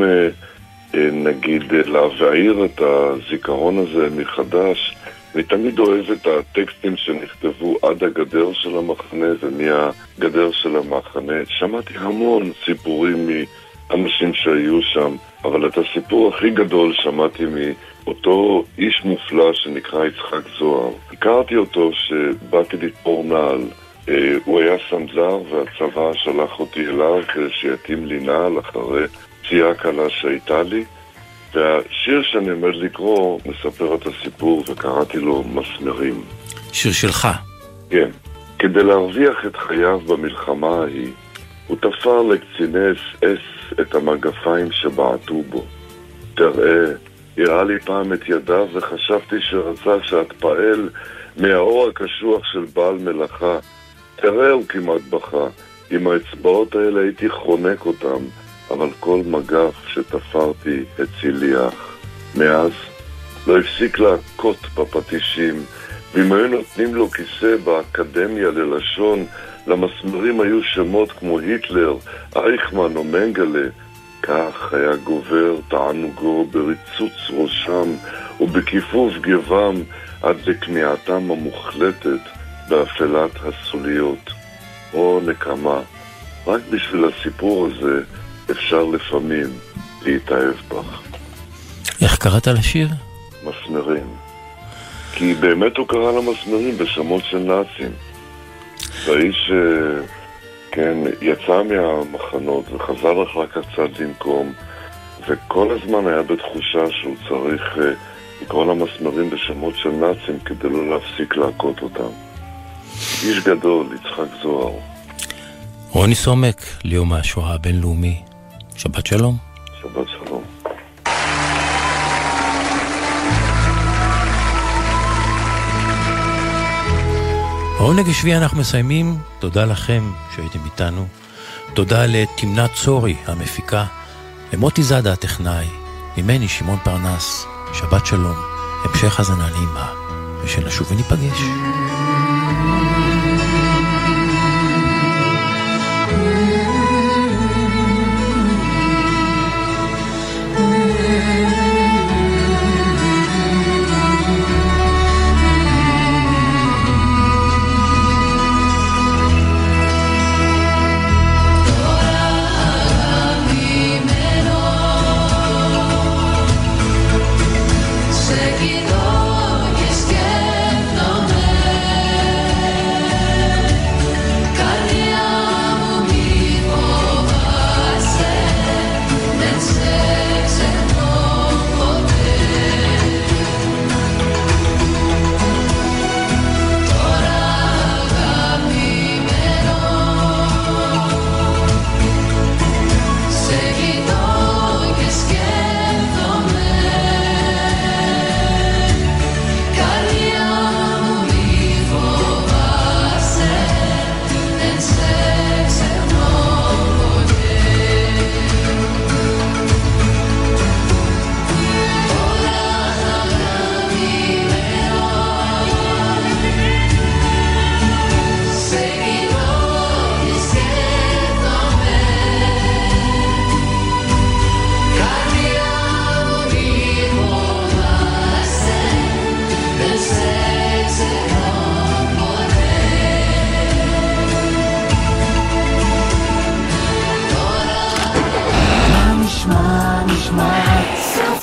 נגיד להבעיר את הזיכרון הזה מחדש, אני תמיד אוהב את הטקסטים שנכתבו עד הגדר של המחנה ומהגדר של המחנה. שמעתי המון סיפורים מאנשים שהיו שם, אבל את הסיפור הכי גדול שמעתי מאותו איש מופלא שנקרא יצחק זוהר. הכרתי אותו שבאתי לתפור נעל. הוא היה סמזר והצבא שלח אותי אליו כדי שיתאים לי נעל אחרי פציעה קלה שהייתה לי. והשיר שאני עומד לקרוא מספר את הסיפור וקראתי לו מסמרים. שיר שלך? כן. כדי להרוויח את חייו במלחמה ההיא, הוא תפר לקציני אס את המגפיים שבעטו בו. תראה, הראה לי פעם את ידיו וחשבתי שרצה שאתפעל מהאור הקשוח של בעל מלאכה. תראה, הוא כמעט בכה. עם האצבעות האלה הייתי חונק אותם. אבל כל מגף שתפרתי הציל לי אח. מאז לא הפסיק להכות בפטישים, ואם היו נותנים לו כיסא באקדמיה ללשון, למסמרים היו שמות כמו היטלר, אייכמן או מנגלה. כך היה גובר תענוגו בריצוץ ראשם ובכיפוף גבם עד לכניעתם המוחלטת באפלת הסוליות. או נקמה, רק בשביל הסיפור הזה אפשר לפעמים להתאהב בך. איך קראת לשיר? מסמרים. כי באמת הוא קרא למסמרים בשמות של נאצים. והאיש, כן, יצא מהמחנות וחזר אחר כך קצת לנקום, וכל הזמן היה בתחושה שהוא צריך לקרוא למסמרים בשמות של נאצים כדי לא להפסיק להכות אותם. איש גדול, יצחק זוהר. רוני סומק, ליום השואה הבינלאומי. שבת שלום. שבת שלום. העונג השביעי אנחנו מסיימים. תודה לכם שהייתם איתנו. תודה לתמנת צורי המפיקה, למוטי זאדה הטכנאי, ממני שמעון פרנס. שבת שלום, המשך הזנה נעימה, ושנשוב וניפגש. Seguido y esquéndome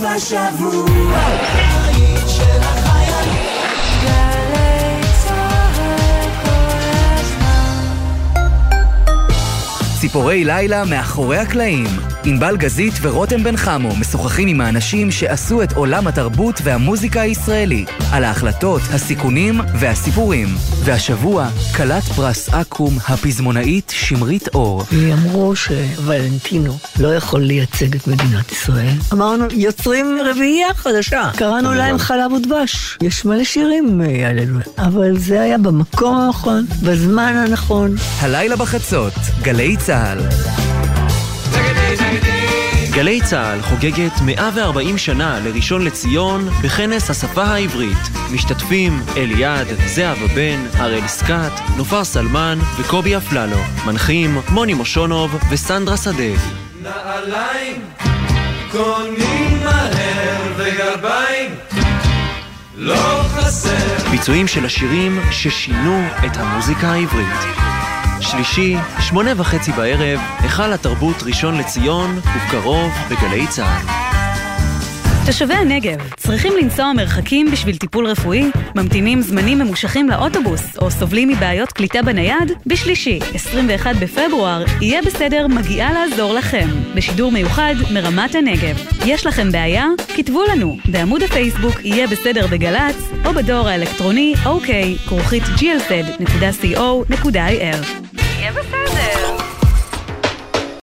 סוף השבוע. הבית של החיילים. גלי צהל כל הזמן. ציפורי לילה מאחורי הקלעים. ענבל גזית ורותם בן חמו משוחחים עם האנשים שעשו את עולם התרבות והמוזיקה הישראלי, על ההחלטות, הסיכונים והסיפורים. והשבוע, כלת פרס אקו"ם הפזמונאית שמרית אור. אמרו שוולנטינו לא יכול לייצג את מדינת ישראל. אמרנו, יוצרים רביעייה חדשה. קראנו להם חלב ודבש. יש מלא שירים עלינו, אבל זה היה במקום הנכון, בזמן הנכון. הלילה בחצות, גלי צהל. גלי צהל חוגגת 140 שנה לראשון לציון בכנס השפה העברית. משתתפים אליעד, זהבה בן, הראל סקאט, נופר סלמן וקובי אפללו. מנחים מוני מושונוב וסנדרה שדה. נעליים קונים מהר וגרביים לא חסר. ביצועים של השירים ששינו את המוזיקה העברית. שלישי, 8:30 בערב, היכל התרבות ראשון לציון, ובקרוב בגלי צהל. תושבי הנגב צריכים לנסוע מרחקים בשביל טיפול רפואי, ממתינים זמנים ממושכים לאוטובוס או סובלים מבעיות קליטה בנייד? בשלישי, 21 בפברואר, יהיה בסדר מגיעה לעזור לכם. בשידור מיוחד מרמת הנגב. יש לכם בעיה? כתבו לנו בעמוד הפייסבוק יהיה בסדר בגלץ, או בדואר האלקטרוני ok@glz.co.il. יהיה בסדר.